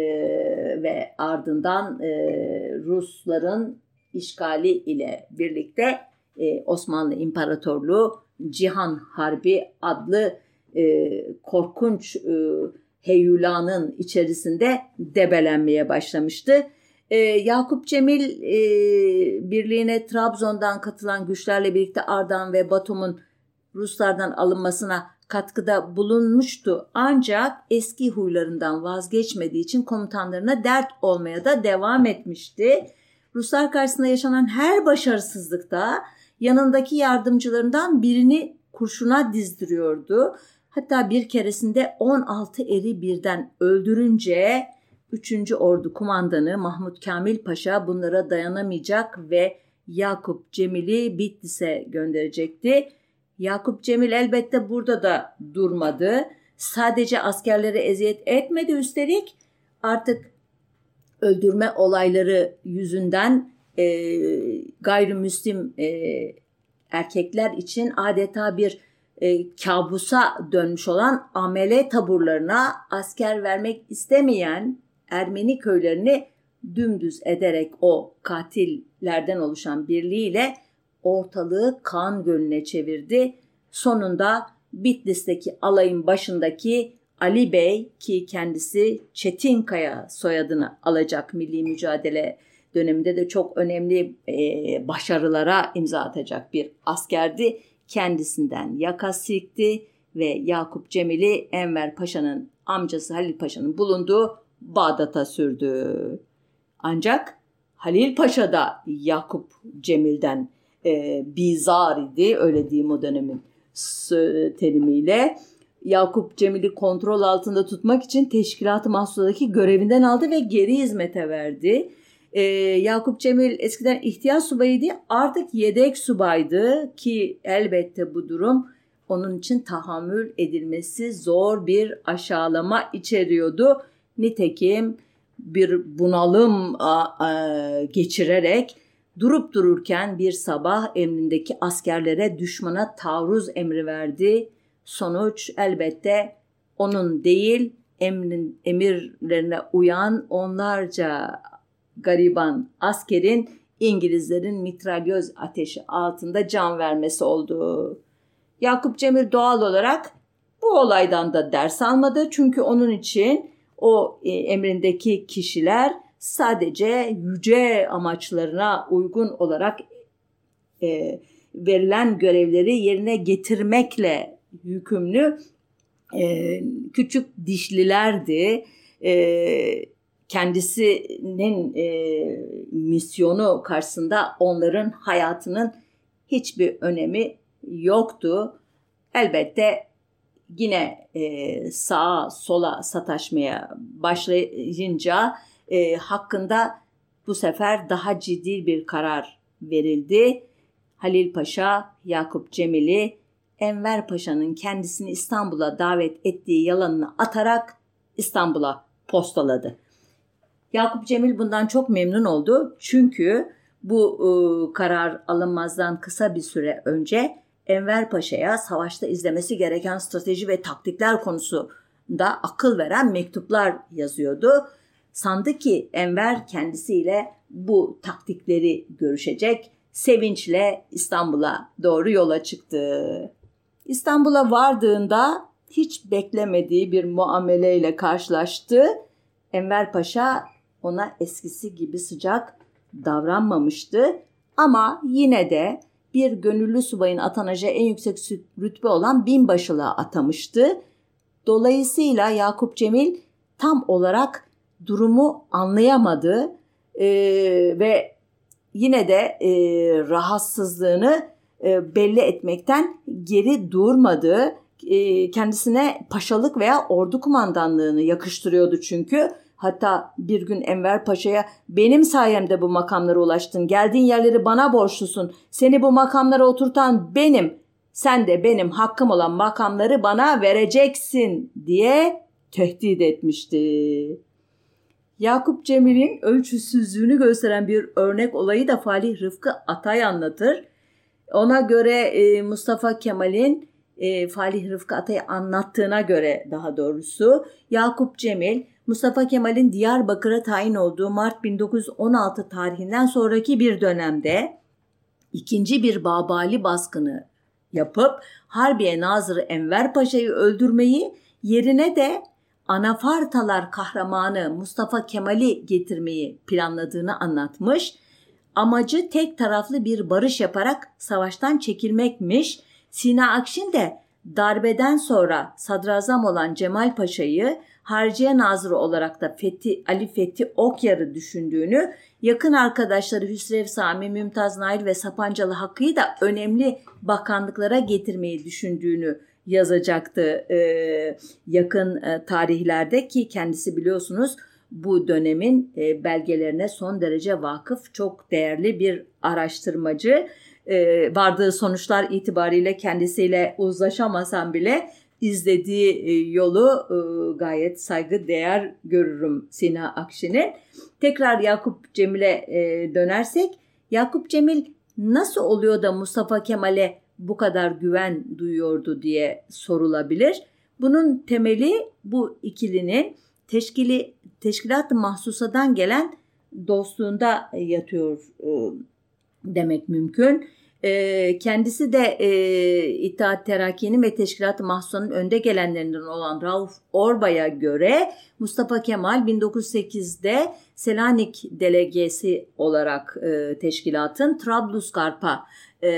ve ardından e, Rusların işgali ile birlikte e, Osmanlı İmparatorluğu Cihan Harbi adlı e, korkunç e, heyulanın içerisinde debelenmeye başlamıştı. Ee, Yakup Cemil e, birliğine Trabzon'dan katılan güçlerle birlikte Ardahan ve Batum'un Ruslardan alınmasına katkıda bulunmuştu. Ancak eski huylarından vazgeçmediği için komutanlarına dert olmaya da devam etmişti. Ruslar karşısında yaşanan her başarısızlıkta yanındaki yardımcılarından birini kurşuna dizdiriyordu. Hatta bir keresinde on altı eri birden öldürünce üçüncü Ordu Kumandanı Mahmut Kamil Paşa bunlara dayanamayacak ve Yakup Cemil'i Bitlis'e gönderecekti. Yakup Cemil elbette burada da durmadı. Sadece askerlere eziyet etmedi, üstelik artık öldürme olayları yüzünden e, gayrimüslim e, erkekler için adeta bir e, kabusa dönmüş olan amele taburlarına asker vermek istemeyen Ermeni köylerini dümdüz ederek o katillerden oluşan birliğiyle ortalığı kan gölüne çevirdi. Sonunda Bitlis'teki alayın başındaki Ali Bey, ki kendisi Çetinkaya soyadını alacak, milli mücadele döneminde de çok önemli e, başarılara imza atacak bir askerdi, kendisinden yaka silkti ve Yakup Cemil'i Enver Paşa'nın amcası Halil Paşa'nın bulunduğu Bağdat'a sürdü. Ancak Halil Paşa da Yakup Cemil'den e, bizar idi, öyle diyeyim o dönemin terimiyle. Yakup Cemil'i kontrol altında tutmak için Teşkilat-ı Mahsusa'daki görevinden aldı ve geri hizmete verdi. Ee, Yakup Cemil eskiden ihtiyaç subayıydı, artık yedek subaydı ki elbette bu durum onun için tahammül edilmesi zor bir aşağılama içeriyordu. Nitekim bir bunalım a, a, geçirerek durup dururken bir sabah emrindeki askerlere düşmana taarruz emri verdi. Sonuç elbette onun değil, emrin, emirlerine uyan onlarca gariban askerin İngilizlerin mitralyöz ateşi altında can vermesi oldu. Yakup Cemil doğal olarak bu olaydan da ders almadı. Çünkü onun için o e, emrindeki kişiler sadece yüce amaçlarına uygun olarak e, verilen görevleri yerine getirmekle yükümlü e, küçük dişlilerdi. E, kendisinin e, misyonu karşısında onların hayatının hiçbir önemi yoktu. Elbette yine e, sağa sola sataşmaya başlayınca e, hakkında bu sefer daha ciddi bir karar verildi. Halil Paşa Yakup Cemil'i Enver Paşa'nın kendisini İstanbul'a davet ettiği yalanını atarak İstanbul'a postaladı. Yakup Cemil bundan çok memnun oldu. Çünkü bu e, karar alınmazdan kısa bir süre önce Enver Paşa'ya savaşta izlemesi gereken strateji ve taktikler konusunda akıl veren mektuplar yazıyordu. Sandı ki Enver kendisiyle bu taktikleri görüşecek. Sevinçle İstanbul'a doğru yola çıktı. İstanbul'a vardığında hiç beklemediği bir muameleyle karşılaştı. Enver Paşa ona eskisi gibi sıcak davranmamıştı. Ama yine de bir gönüllü subayın atanacağı en yüksek rütbe olan binbaşılığa atamıştı. Dolayısıyla Yakup Cemil tam olarak durumu anlayamadı ee, ve yine de e, rahatsızlığını e, belli etmekten geri durmadı. E, kendisine paşalık veya ordu kumandanlığını yakıştırıyordu çünkü. Hatta bir gün Enver Paşa'ya benim sayemde bu makamlara ulaştın, geldiğin yerleri bana borçlusun, seni bu makamlara oturtan benim, sen de benim hakkım olan makamları bana vereceksin diye tehdit etmişti. Yakup Cemil'in ölçüsüzlüğünü gösteren bir örnek olayı da Falih Rıfkı Atay anlatır. Ona göre e, Mustafa Kemal'in e, Falih Rıfkı Atay'ı anlattığına göre daha doğrusu Yakup Cemil Mustafa Kemal'in Diyarbakır'a tayin olduğu Mart bin dokuz yüz on altı tarihinden sonraki bir dönemde ikinci bir Babali baskını yapıp Harbiye Nazırı Enver Paşa'yı öldürmeyi, yerine de Anafartalar kahramanı Mustafa Kemal'i getirmeyi planladığını anlatmış. Amacı tek taraflı bir barış yaparak savaştan çekilmekmiş. Sina Akşin de darbeden sonra sadrazam olan Cemal Paşa'yı Harciye Nazırı olarak da Fethi, Ali Fethi Okyar'ı düşündüğünü, yakın arkadaşları Hüsrev Sami, Mümtaz Nail ve Sapancalı Hakkı'yı da önemli bakanlıklara getirmeyi düşündüğünü yazacaktı ee, yakın e, tarihlerde ki kendisi biliyorsunuz bu dönemin e, belgelerine son derece vakıf, çok değerli bir araştırmacı. E, vardığı sonuçlar itibariyle kendisiyle uzlaşamasam bile izlediği e, yolu e, gayet saygıdeğer görürüm Sina Akşin'in. Tekrar Yakup Cemil'e e, dönersek, Yakup Cemil nasıl oluyor da Mustafa Kemal'e bu kadar güven duyuyordu diye sorulabilir. Bunun temeli bu ikilinin teşkili, Teşkilat-ı Mahsusa'dan gelen dostluğunda yatıyor e, demek mümkün. E, kendisi de e, İttihat Terakki'nin ve Teşkilat-ı Mahsusa'nın önde gelenlerinden olan Rauf Orbay'a göre Mustafa Kemal bin dokuz yüz sekizde Selanik delegesi olarak e, teşkilatın Trablusgarp'a e,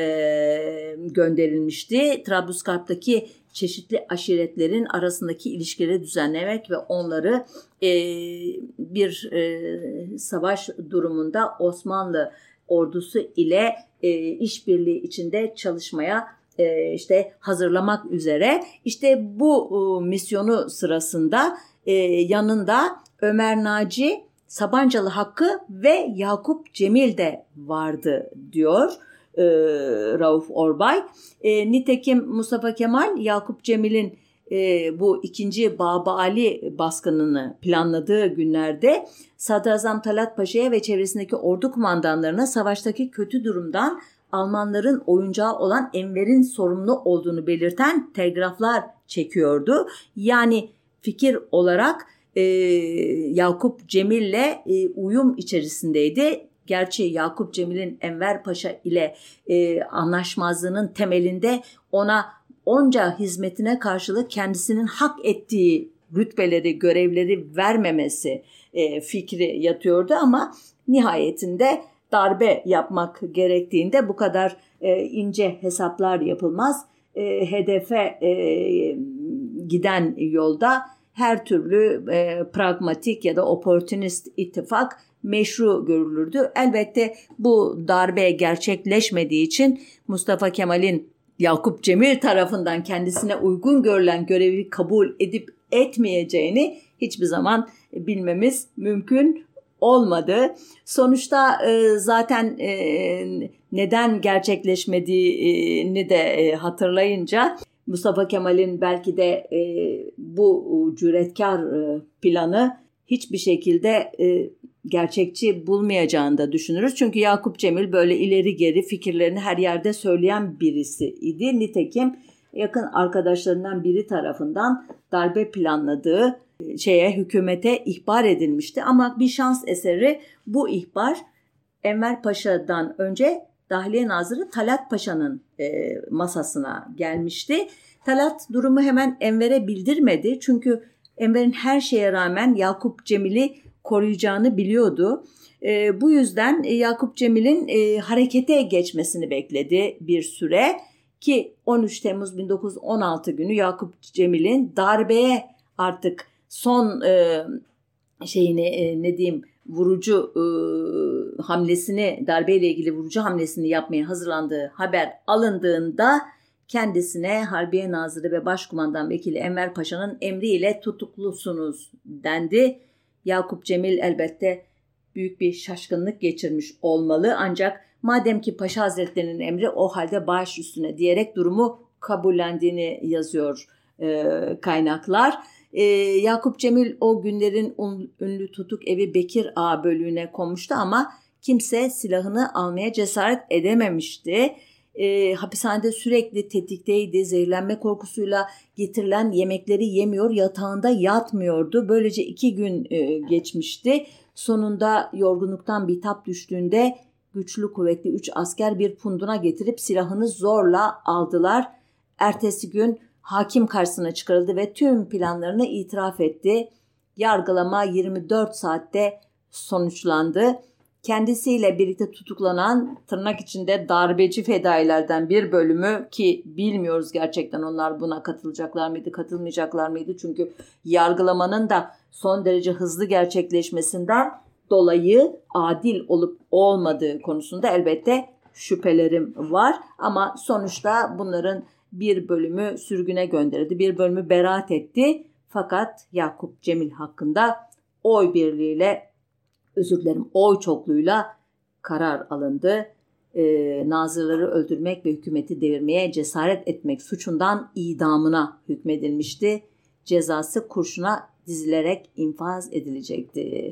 gönderilmişti. Trablusgarp'taki çeşitli aşiretlerin arasındaki ilişkileri düzenlemek ve onları e, bir e, savaş durumunda Osmanlı ordusu ile e, işbirliği içinde çalışmaya e, işte hazırlamak üzere. İşte bu e, misyonu sırasında e, yanında Ömer Naci, Sabancalı Hakkı ve Yakup Cemil de vardı diyor e, Rauf Orbay. E, nitekim Mustafa Kemal Yakup Cemil'in e, bu ikinci Baba Ali baskınını planladığı günlerde Sadrazam Talat Paşa'ya ve çevresindeki ordu kumandanlarına savaştaki kötü durumdan Almanların oyuncağı olan Enver'in sorumlu olduğunu belirten telgraflar çekiyordu. Yani fikir olarak e, Yakup Cemil'le e, uyum içerisindeydi. Gerçi Yakup Cemil'in Enver Paşa ile e, anlaşmazlığının temelinde ona onca hizmetine karşılık kendisinin hak ettiği rütbeleri, görevleri vermemesi e, fikri yatıyordu ama nihayetinde darbe yapmak gerektiğinde bu kadar e, ince hesaplar yapılmaz. E, hedefe e, giden yolda her türlü e, pragmatik ya da opportunist ittifak meşru görülürdü. Elbette bu darbe gerçekleşmediği için Mustafa Kemal'in Yakup Cemil tarafından kendisine uygun görülen görevi kabul edip etmeyeceğini hiçbir zaman bilmemiz mümkün olmadı. Sonuçta e, zaten e, neden gerçekleşmediğini de e, hatırlayınca Mustafa Kemal'in belki de e, bu cüretkar e, planı hiçbir şekilde e, gerçekçi bulmayacağını da düşünürüz. Çünkü Yakup Cemil böyle ileri geri fikirlerini her yerde söyleyen birisi idi. Nitekim yakın arkadaşlarından biri tarafından darbe planladığı şeye, hükümete ihbar edilmişti. Ama bir şans eseri bu ihbar Enver Paşa'dan önce Dahiliye Nazırı Talat Paşa'nın e, masasına gelmişti. Talat durumu hemen Enver'e bildirmedi. Çünkü Enver'in her şeye rağmen Yakup Cemil'i koruyacağını biliyordu. E, bu yüzden Yakup Cemil'in e, harekete geçmesini bekledi bir süre ki on üç Temmuz bin dokuz yüz on altı günü Yakup Cemil'in darbeye artık son e, şeyini e, ne diyeyim vurucu e, hamlesini, darbeyle ilgili vurucu hamlesini yapmaya hazırlandığı haber alındığında kendisine Harbiye Nazırı ve Başkumandan Vekili Enver Paşa'nın emriyle tutuklusunuz dendi. Yakup Cemil elbette büyük bir şaşkınlık geçirmiş olmalı ancak madem ki Paşa Hazretleri'nin emri o halde baş üstüne diyerek durumu kabullendiğini yazıyor e, kaynaklar. E, Yakup Cemil o günlerin un, ünlü tutuk evi Bekir Ağa bölüğüne konmuştu ama kimse silahını almaya cesaret edememişti. E, hapishanede sürekli tetikteydi. Zehirlenme korkusuyla getirilen yemekleri yemiyor, yatağında yatmıyordu. Böylece iki gün e, geçmişti. Sonunda yorgunluktan bitap düştüğünde güçlü kuvvetli üç asker bir punduna getirip silahını zorla aldılar. Ertesi gün hakim karşısına çıkarıldı ve tüm planlarını itiraf etti. Yargılama yirmi dört saatte sonuçlandı. Kendisiyle birlikte tutuklanan tırnak içinde darbeci fedailerden bir bölümü ki bilmiyoruz gerçekten onlar buna katılacaklar mıydı, katılmayacaklar mıydı? Çünkü yargılamanın da son derece hızlı gerçekleşmesinden dolayı adil olup olmadığı konusunda elbette şüphelerim var. Ama sonuçta bunların bir bölümü sürgüne gönderildi, bir bölümü beraat etti. Fakat Yakup Cemil hakkında oy birliğiyle, özür dilerim oy çokluğuyla karar alındı. Ee, nazırları öldürmek ve hükümeti devirmeye cesaret etmek suçundan idamına hükmedilmişti. Cezası kurşuna dizilerek infaz edilecekti.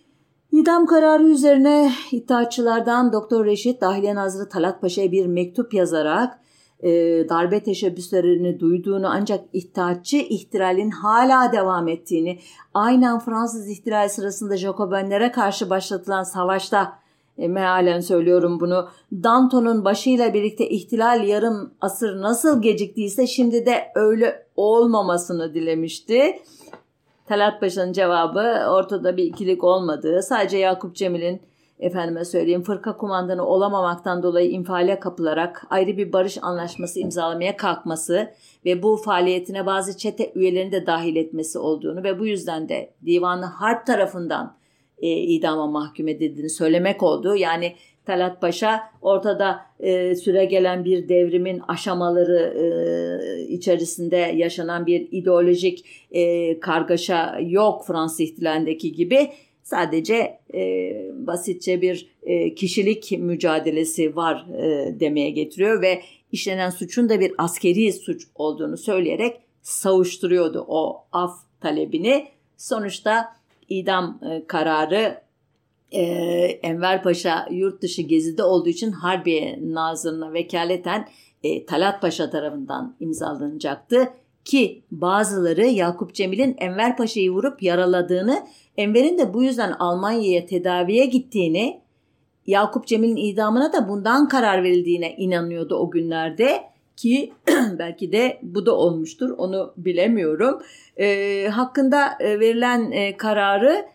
İdam kararı üzerine İttihatçılardan Doktor Reşit Dahiliye Nazırı Talat Paşa'ya bir mektup yazarak e, darbe teşebbüslerini duyduğunu ancak İttihatçı ihtiralin hala devam ettiğini, aynen Fransız ihtilali sırasında Jacobenlere karşı başlatılan savaşta, e, mealen söylüyorum bunu, Danton'un başıyla birlikte ihtilal yarım asır nasıl geciktiyse şimdi de öyle olmamasını dilemişti. Talat Paşa'nın cevabı ortada bir ikilik olmadığı, sadece Yakup Cemil'in efendime söyleyeyim fırka kumandanı olamamaktan dolayı infiale kapılarak ayrı bir barış anlaşması imzalamaya kalkması ve bu faaliyetine bazı çete üyelerini de dahil etmesi olduğunu ve bu yüzden de Divan-ı Harp tarafından e, idama mahkum edildiğini söylemek oldu. Yani Talat Paşa ortada e, süregelen bir devrimin aşamaları e, içerisinde yaşanan bir ideolojik e, kargaşa yok Fransız ihtilalindeki gibi. Sadece e, basitçe bir e, kişilik mücadelesi var e, demeye getiriyor ve işlenen suçun da bir askeri suç olduğunu söyleyerek savuşturuyordu o af talebini. Sonuçta idam e, kararı e, Enver Paşa yurt dışı gezide olduğu için Harbiye Nazırı'na vekaleten e, Talat Paşa tarafından imzalanacaktı. Ki bazıları Yakup Cemil'in Enver Paşa'yı vurup yaraladığını, Enver'in de bu yüzden Almanya'ya tedaviye gittiğini, Yakup Cemil'in idamına da bundan karar verildiğine inanıyordu o günlerde ki belki de bu da olmuştur, onu bilemiyorum. E, hakkında verilen e, kararı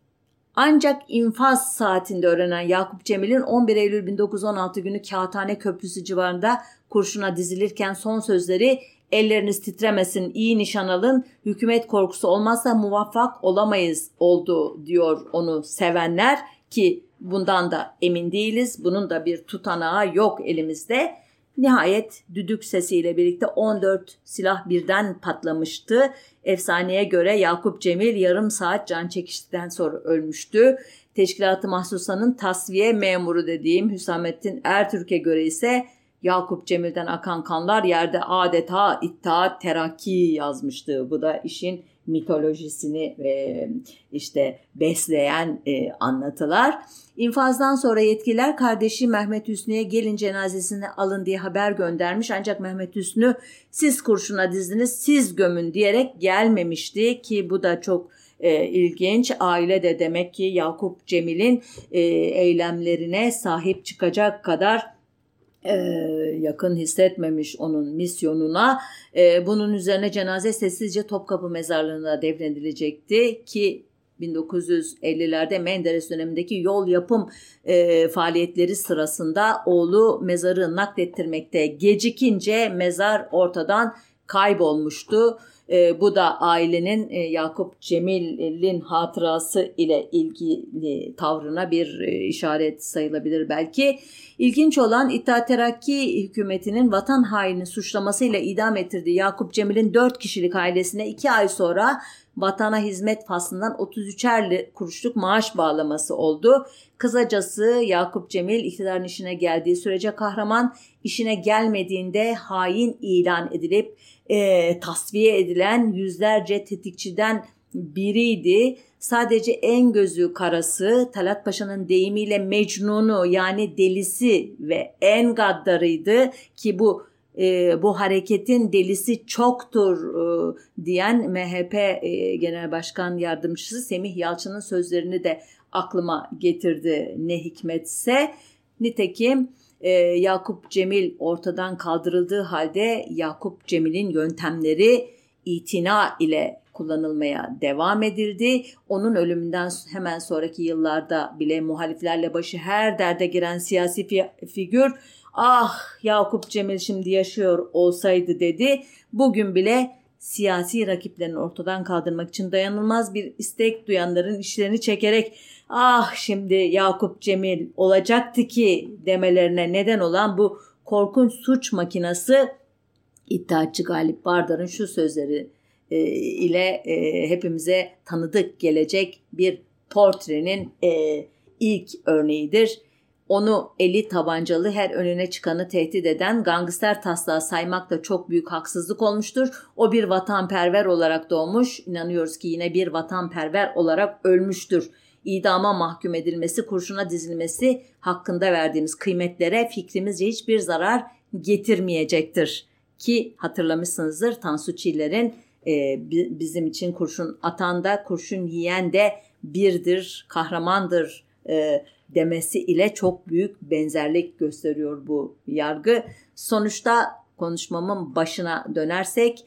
ancak infaz saatinde öğrenen Yakup Cemil'in on bir Eylül bin dokuz yüz on altı günü Kağıthane Köprüsü civarında kurşuna dizilirken son sözleri "Elleriniz titremesin, iyi nişan alın, hükümet korkusu olmazsa muvaffak olamayız" oldu diyor onu sevenler ki bundan da emin değiliz. Bunun da bir tutanağı yok elimizde. Nihayet düdük sesiyle birlikte on dört silah birden patlamıştı. Efsaneye göre Yakup Cemil yarım saat can çekiştikten sonra ölmüştü. Teşkilat-ı Mahsusa'nın tasfiye memuru dediğim Hüsamettin Ertürk'e göre ise Yakup Cemil'den akan kanlar yerde adeta İttihat Terakki yazmıştı. Bu da işin mitolojisini e, işte besleyen e, anlatılar. İnfazdan sonra yetkililer kardeşi Mehmet Hüsnü'ye gelin cenazesini alın diye haber göndermiş. Ancak Mehmet Hüsnü siz kurşuna dizdiniz, siz gömün diyerek gelmemişti ki bu da çok e, ilginç. Aile de demek ki Yakup Cemil'in e, eylemlerine sahip çıkacak kadar Ee, yakın hissetmemiş onun misyonuna. Ee, bunun üzerine cenaze sessizce Topkapı Mezarlığı'na defnedilecekti ki bin dokuz yüz ellilerde Menderes dönemindeki yol yapım e, faaliyetleri sırasında oğlu mezarı naklettirmekte gecikince mezar ortadan kaybolmuştu. E, bu da ailenin e, Yakup Cemil'in hatırası ile ilgili tavrına bir e, işaret sayılabilir belki. İlginç olan İttihat Terakki hükümetinin vatan haini suçlamasıyla idam ettirdiği Yakup Cemil'in dört kişilik ailesine iki ay sonra vatana hizmet faslından otuz üçer kuruşluk maaş bağlaması oldu. Kısacası Yakup Cemil iktidarın işine geldiği sürece kahraman, işine gelmediğinde hain ilan edilip e, tasfiye edilen yüzlerce tetikçiden biriydi. Sadece en gözü karası, Talat Paşa'nın deyimiyle Mecnun'u yani delisi ve en gaddarıydı ki bu e, bu hareketin delisi çoktur e, diyen M H P e, Genel Başkan Yardımcısı Semih Yalçın'ın sözlerini de aklıma getirdi ne hikmetse. Nitekim e, Yakup Cemil ortadan kaldırıldığı halde Yakup Cemil'in yöntemleri itina ile kullanılmaya devam edildi. Onun ölümünden hemen sonraki yıllarda bile muhaliflerle başı her derde giren siyasi fi- figür "Ah Yakup Cemil şimdi yaşıyor olsaydı" dedi. Bugün bile siyasi rakiplerini ortadan kaldırmak için dayanılmaz bir istek duyanların işlerini çekerek "Ah şimdi Yakup Cemil olacaktı ki" demelerine neden olan bu korkunç suç makinası İttihatçı Galip Bardar'ın şu sözleri e, ile e, hepimize tanıdık gelecek bir portrenin e, ilk örneğidir. Onu eli tabancalı her önüne çıkanı tehdit eden gangster taslağı saymak da çok büyük haksızlık olmuştur. O bir vatanperver olarak doğmuş, inanıyoruz ki yine bir vatanperver olarak ölmüştür. İdama mahkum edilmesi, kurşuna dizilmesi hakkında verdiğimiz kıymetlere fikrimizce hiçbir zarar getirmeyecektir. Ki hatırlamışsınızdır Tansu Çiller'in e, bizim için kurşun atan da kurşun yiyen de birdir, kahramandır e, demesi ile çok büyük benzerlik gösteriyor bu yargı. Sonuçta konuşmamın başına dönersek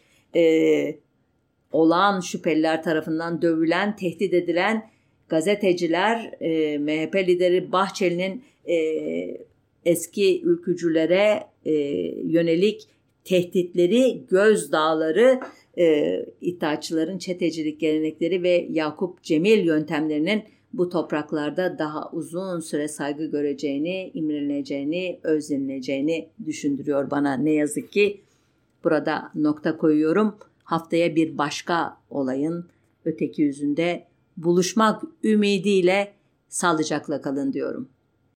e, olağan şüpheliler tarafından dövülen, tehdit edilen gazeteciler, e, M H P lideri Bahçeli'nin e, eski ülkücülere e, yönelik tehditleri, gözdağları, e, İttihatçıların çetecilik gelenekleri ve Yakup Cemil yöntemlerinin bu topraklarda daha uzun süre saygı göreceğini, imrenileceğini, özlenileceğini düşündürüyor bana ne yazık ki. Burada nokta koyuyorum. Haftaya bir başka olayın öteki yüzünde buluşmak ümidiyle sağlıcakla kalın diyorum.